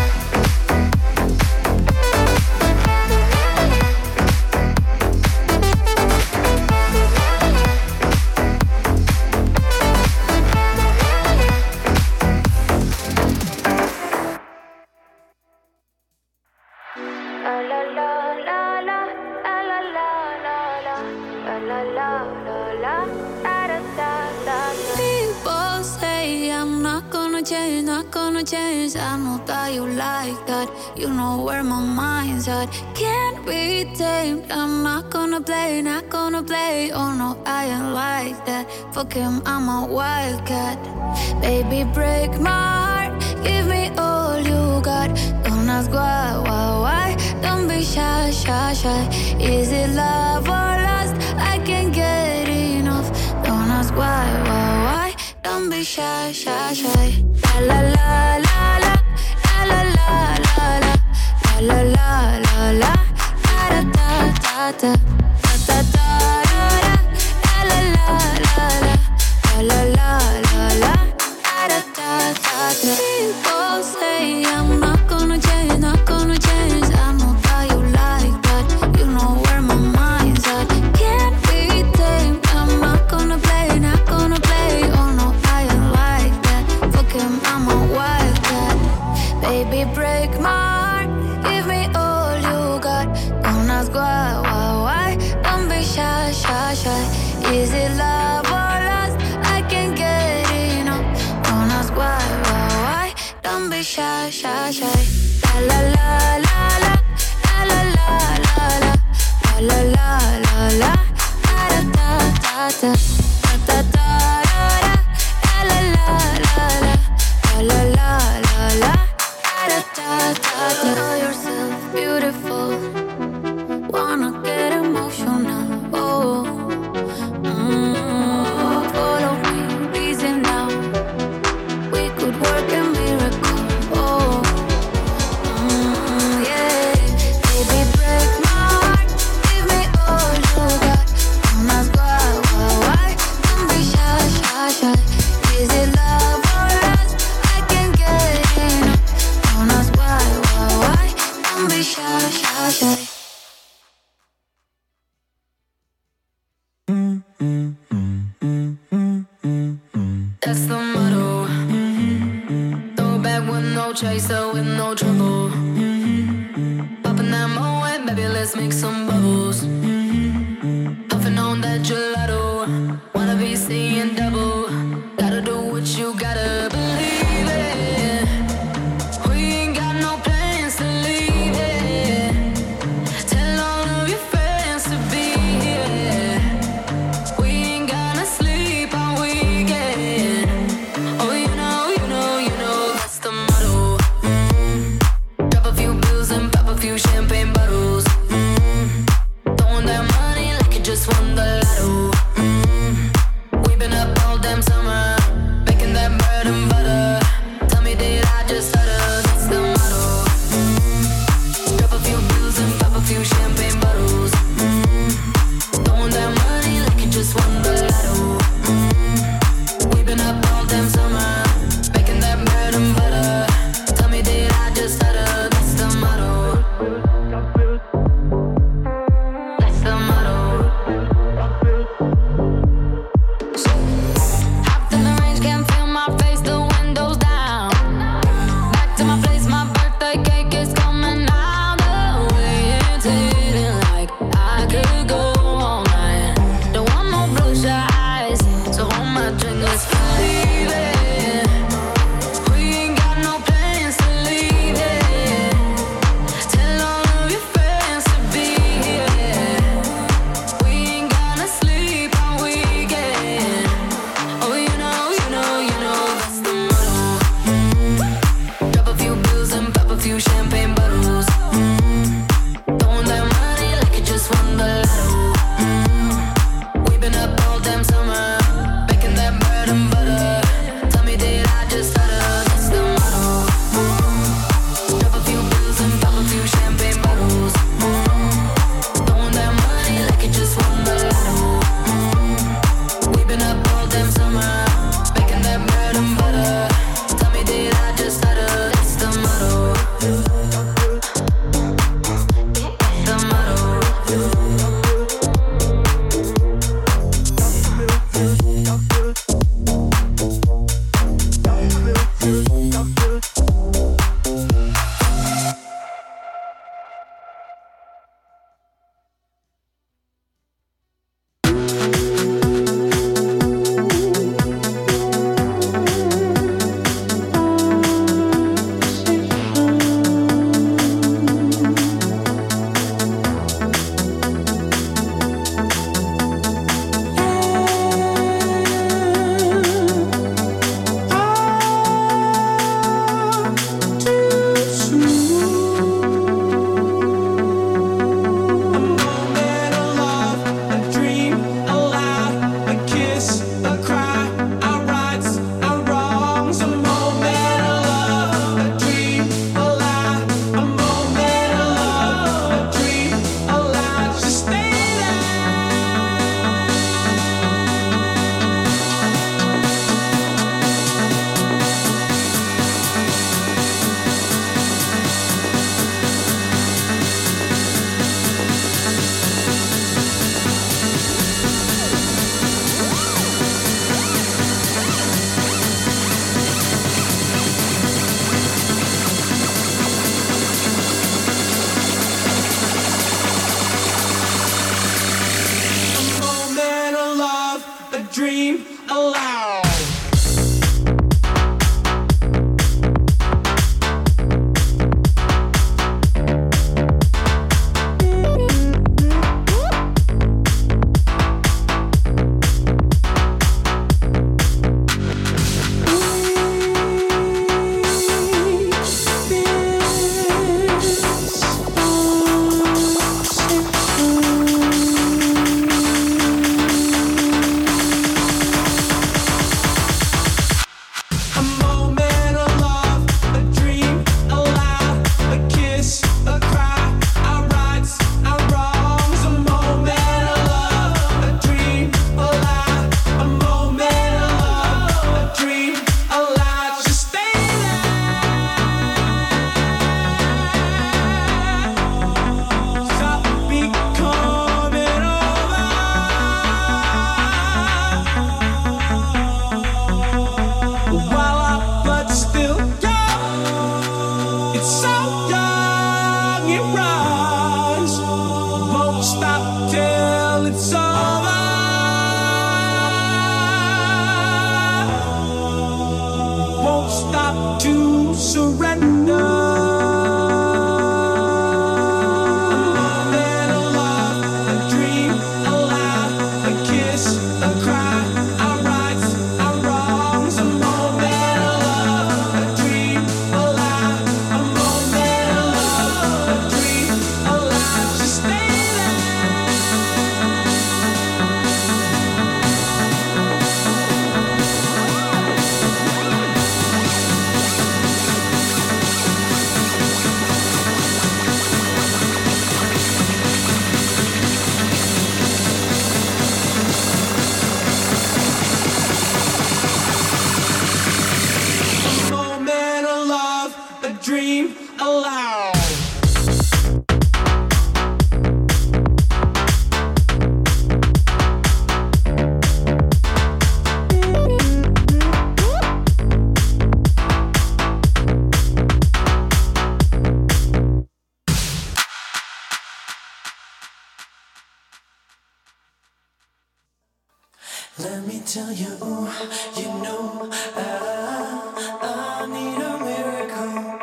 People say I'm not gonna change, not gonna change. I know that you like that. You know where my mind's at. Can't be tamed. I'm not gonna play, not gonna play. Oh no, I ain't like that. Fuck him, I'm a wildcat. Baby, break my heart. Give me all you got. Don't ask why. Don't be shy, shy, shy. Is it love or lust? I can't get enough. Don't ask why. Don't be shy, shy, shy. La la la la la, la la la la la, la la la la la. ta ta ta ta la la la la la la la da da da. People say I'm not gonna change, not gonna change. I know that you like that. You know where my mind's at. Can't be tamed. I'm not gonna play, not gonna play. Oh no, I ain't like that. Fuck him, I'm a wildcat. Baby, break my heart. Give me all you got. Don't ask why. Don't be shy, shy, shy. Is it love or lust? I can't get enough. Don't ask why. Don't be shy, shy, shy. La la la la la la la la la la la la la da da da da da da da la la la la la la la la da da da. Know yourself beautiful. Wanna get emotional. Oh, follow me, reason now. We could work a miracle. Oh, yeah. Baby, break my heart. Give me all you got. Don't ask why. Don't be shy, shy, shy. Is it love or lust? I can't get enough. Don't ask why. Don't be shy, shy, shy. That's the motto. Throw back with no chaser, with no trouble. Popping that Moet, baby, let's make some bubbles. Puffing on that gelato. Wanna be seeing double. Gotta do what you gotta believe it. We ain't got no plans to leave it. Tell all of your friends to be here. We ain't gonna sleep all weekend. Oh, you know, that's the motto. Drop a few bills and pop a few champagne bottles. Throwing aloud. Let me tell you, you know, I need a miracle.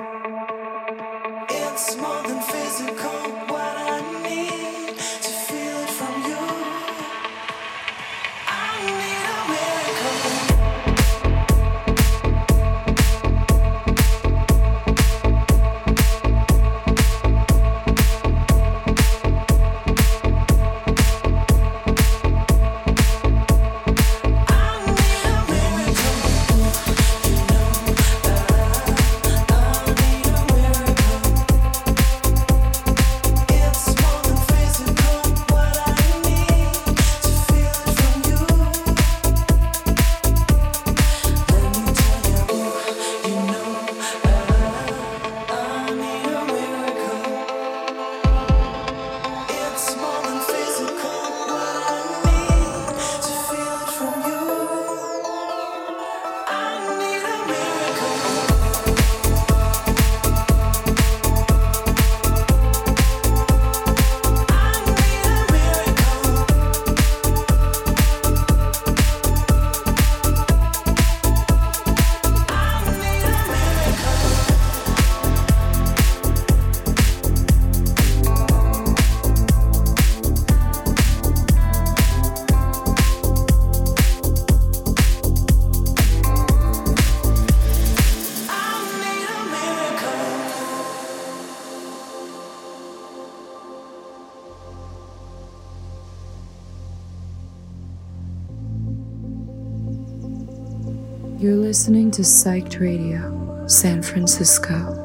It's more than physical, what I need to feel it from you. I need a miracle. You're listening to Psyched Radio, San Francisco.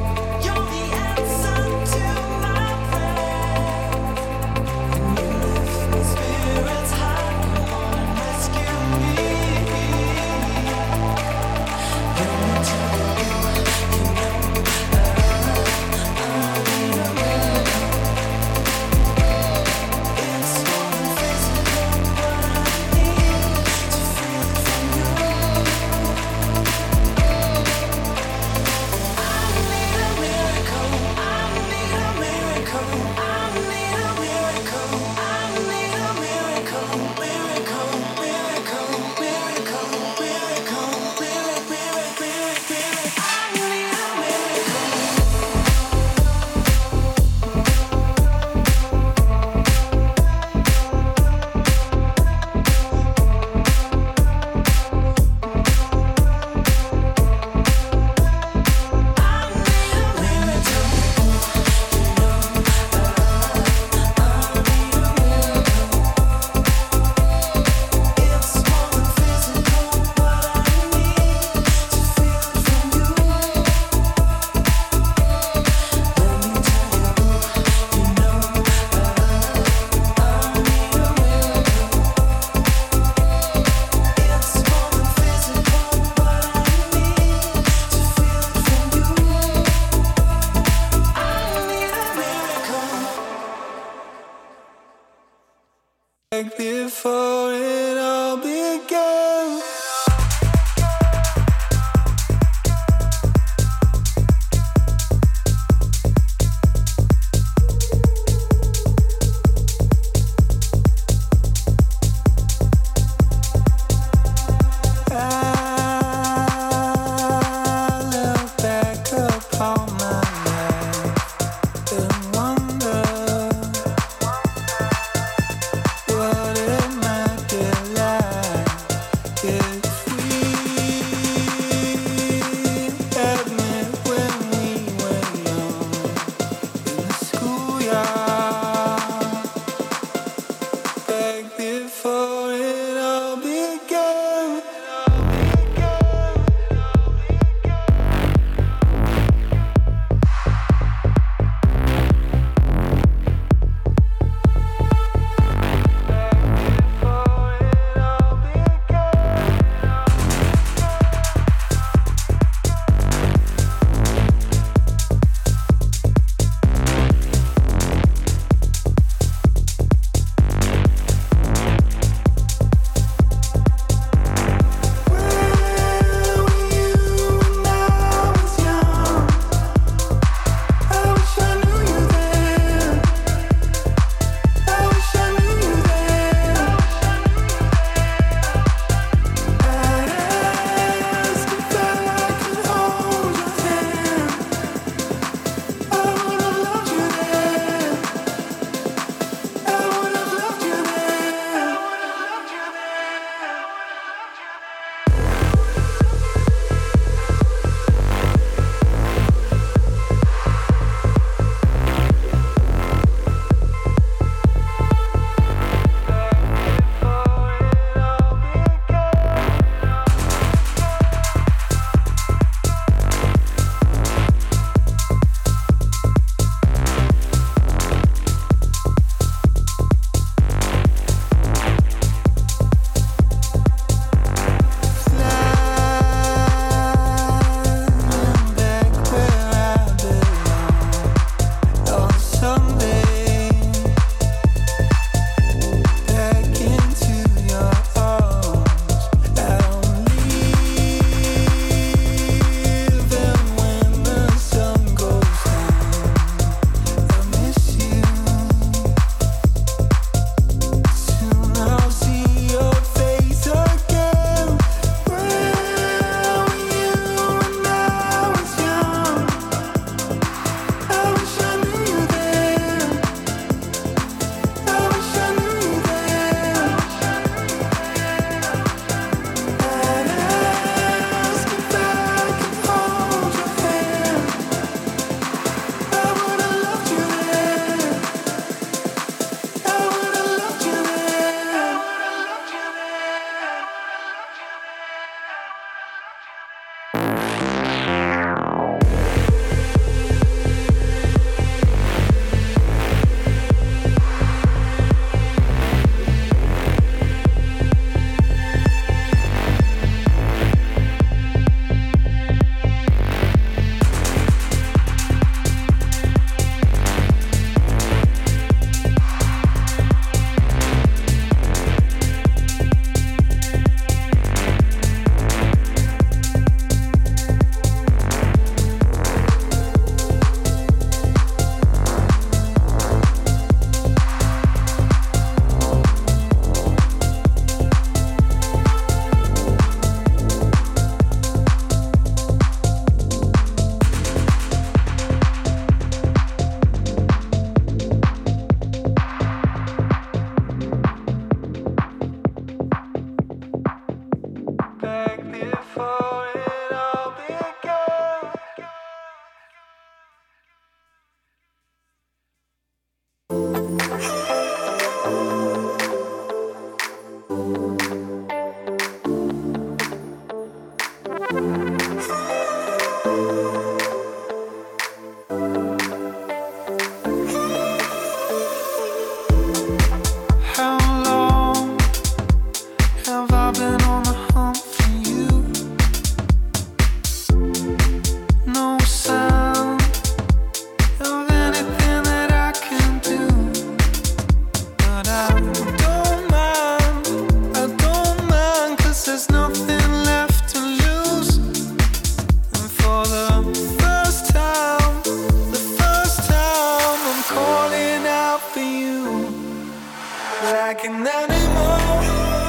You're the answer to my prayer. before it all began. Yeah. Like an animal,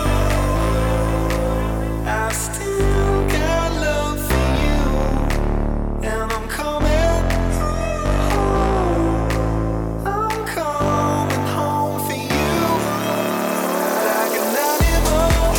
I still got love for you, and I'm coming home. I'm coming home for you. Like an animal,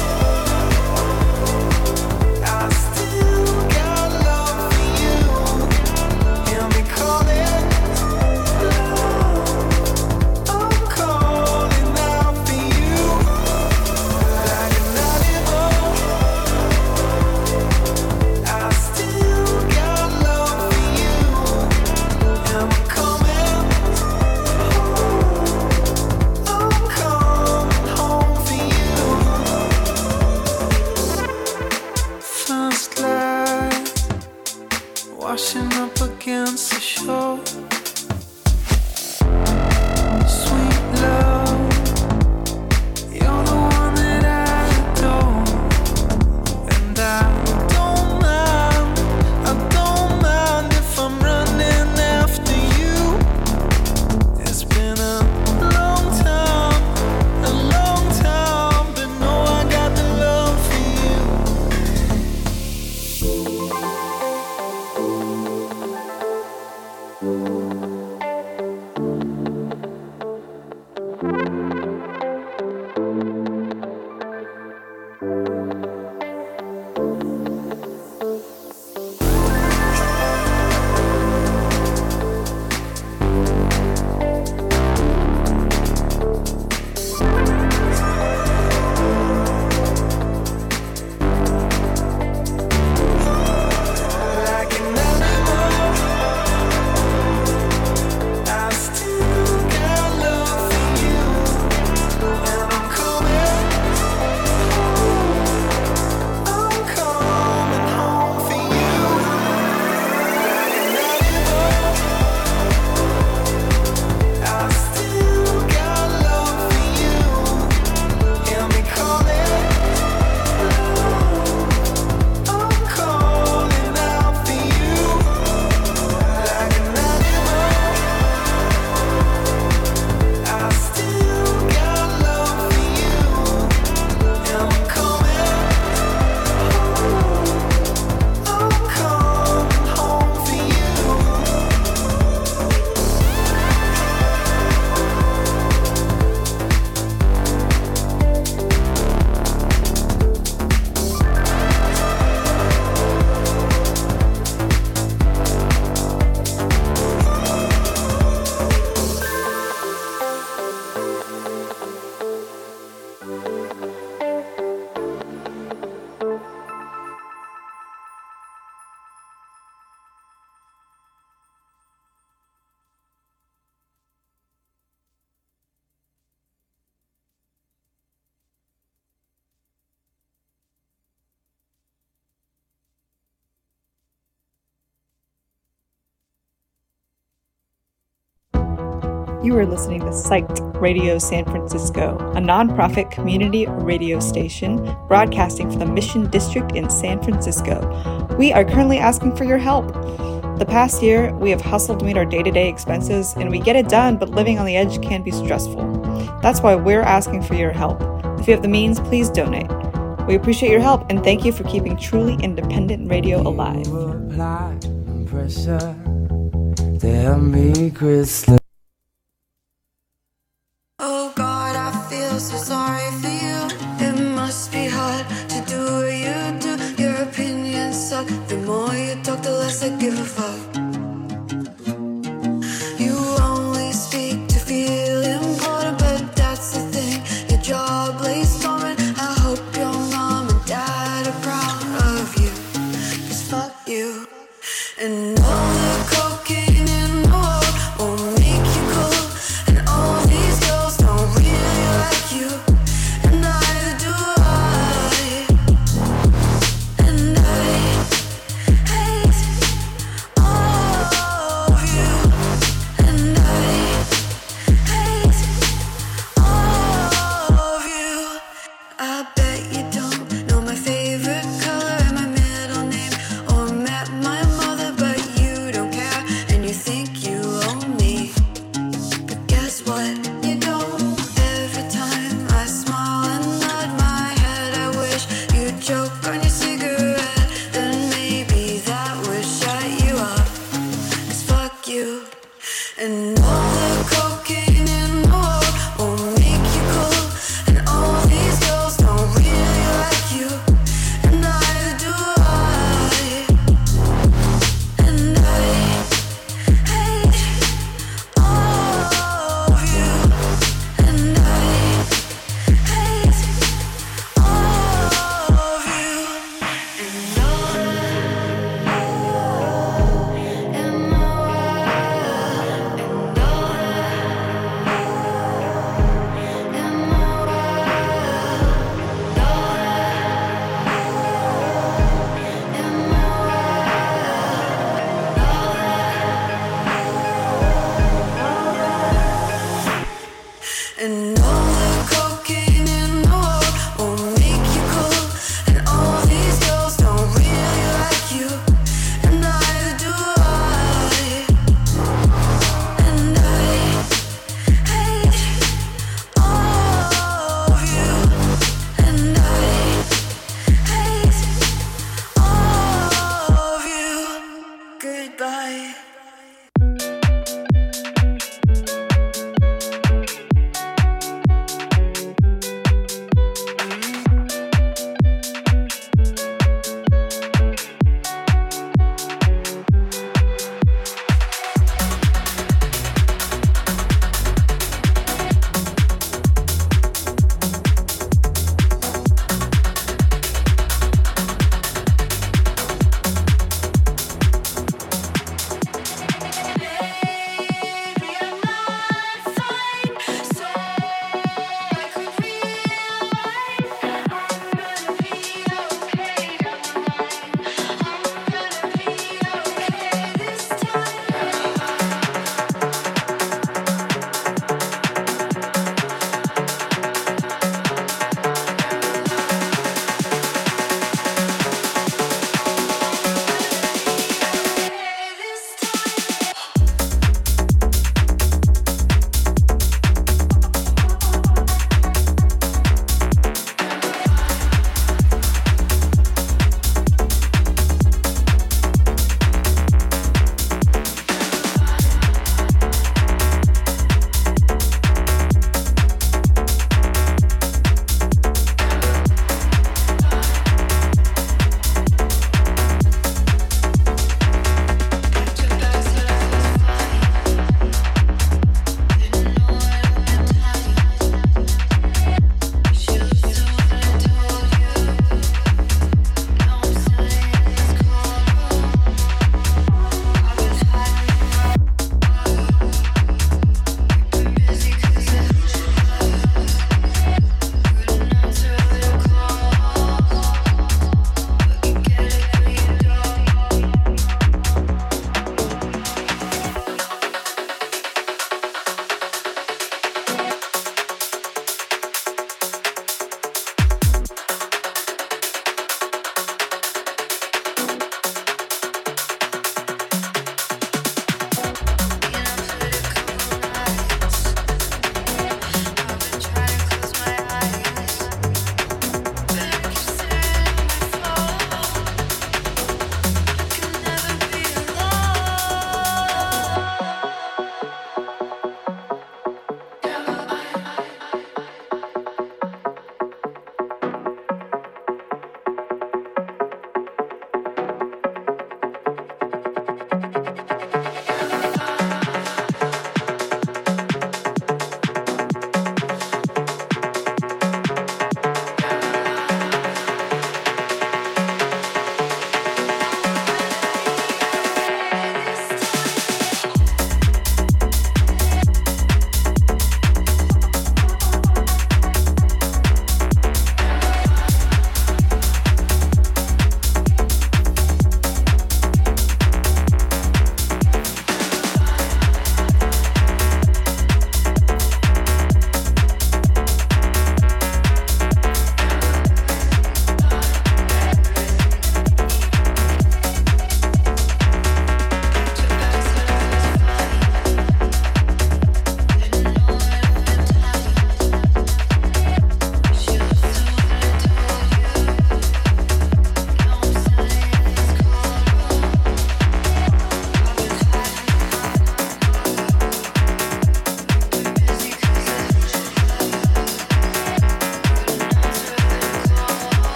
I still got love for you, and we call it love. I'm calling out for you. Like an animal, I still got love for you, and I'm coming home. I'm coming home for you. First light washing up against the shore. Sweet love, you're the one that I adore, and I don't mind if I'm running after you. It's been a long time, but no, I got the love for you. Like an animal, I still got love for you, and I'm coming home. I'm coming home for you. Like an animal, I still got love for you, and we call it love. I'm calling out for you. Like an animal, I still got love for you, and I'm coming home. I'm coming home for you. You are listening to Psyched Radio San Francisco, a nonprofit community radio station broadcasting from the Mission District in San Francisco. We are currently asking for your help. The past year, we have hustled to meet our day-to-day expenses, and we get it done, but living on the edge can be stressful. That's why we're asking for your help. If you have the means, please donate. We appreciate your help, and thank you for keeping truly independent radio alive. Pressure, tell me, Crystal. Oh God, I feel so sorry for you. It must be hard to do what you do. Your opinions suck. The more you talk, the less I give a fuck. You only speak to feel important, but that's the thing. Your job lays dormant. I hope your mom and dad are proud of you. 'Cause fuck you. And all the cocaine in the world won't make you cool. And all these girls don't really like you, and neither do I. And I hate And all the cocaine in the world won't make you cool. And all these girls don't really like you, and neither do I. And I hate all of you. And I hate all of you. And all in my world. And all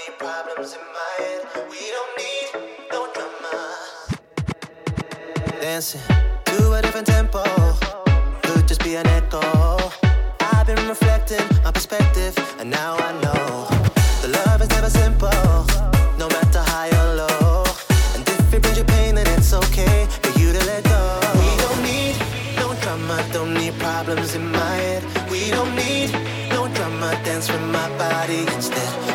need problems in my head. We don't need no drama. Dancing to a different tempo could just be an echo. I've been reflecting my perspective, and now I know the love is never simple, no matter high or low. And if it brings you pain, then it's okay for you to let go. We don't need no drama, don't need problems in my head. We don't need no drama, dance with my body instead.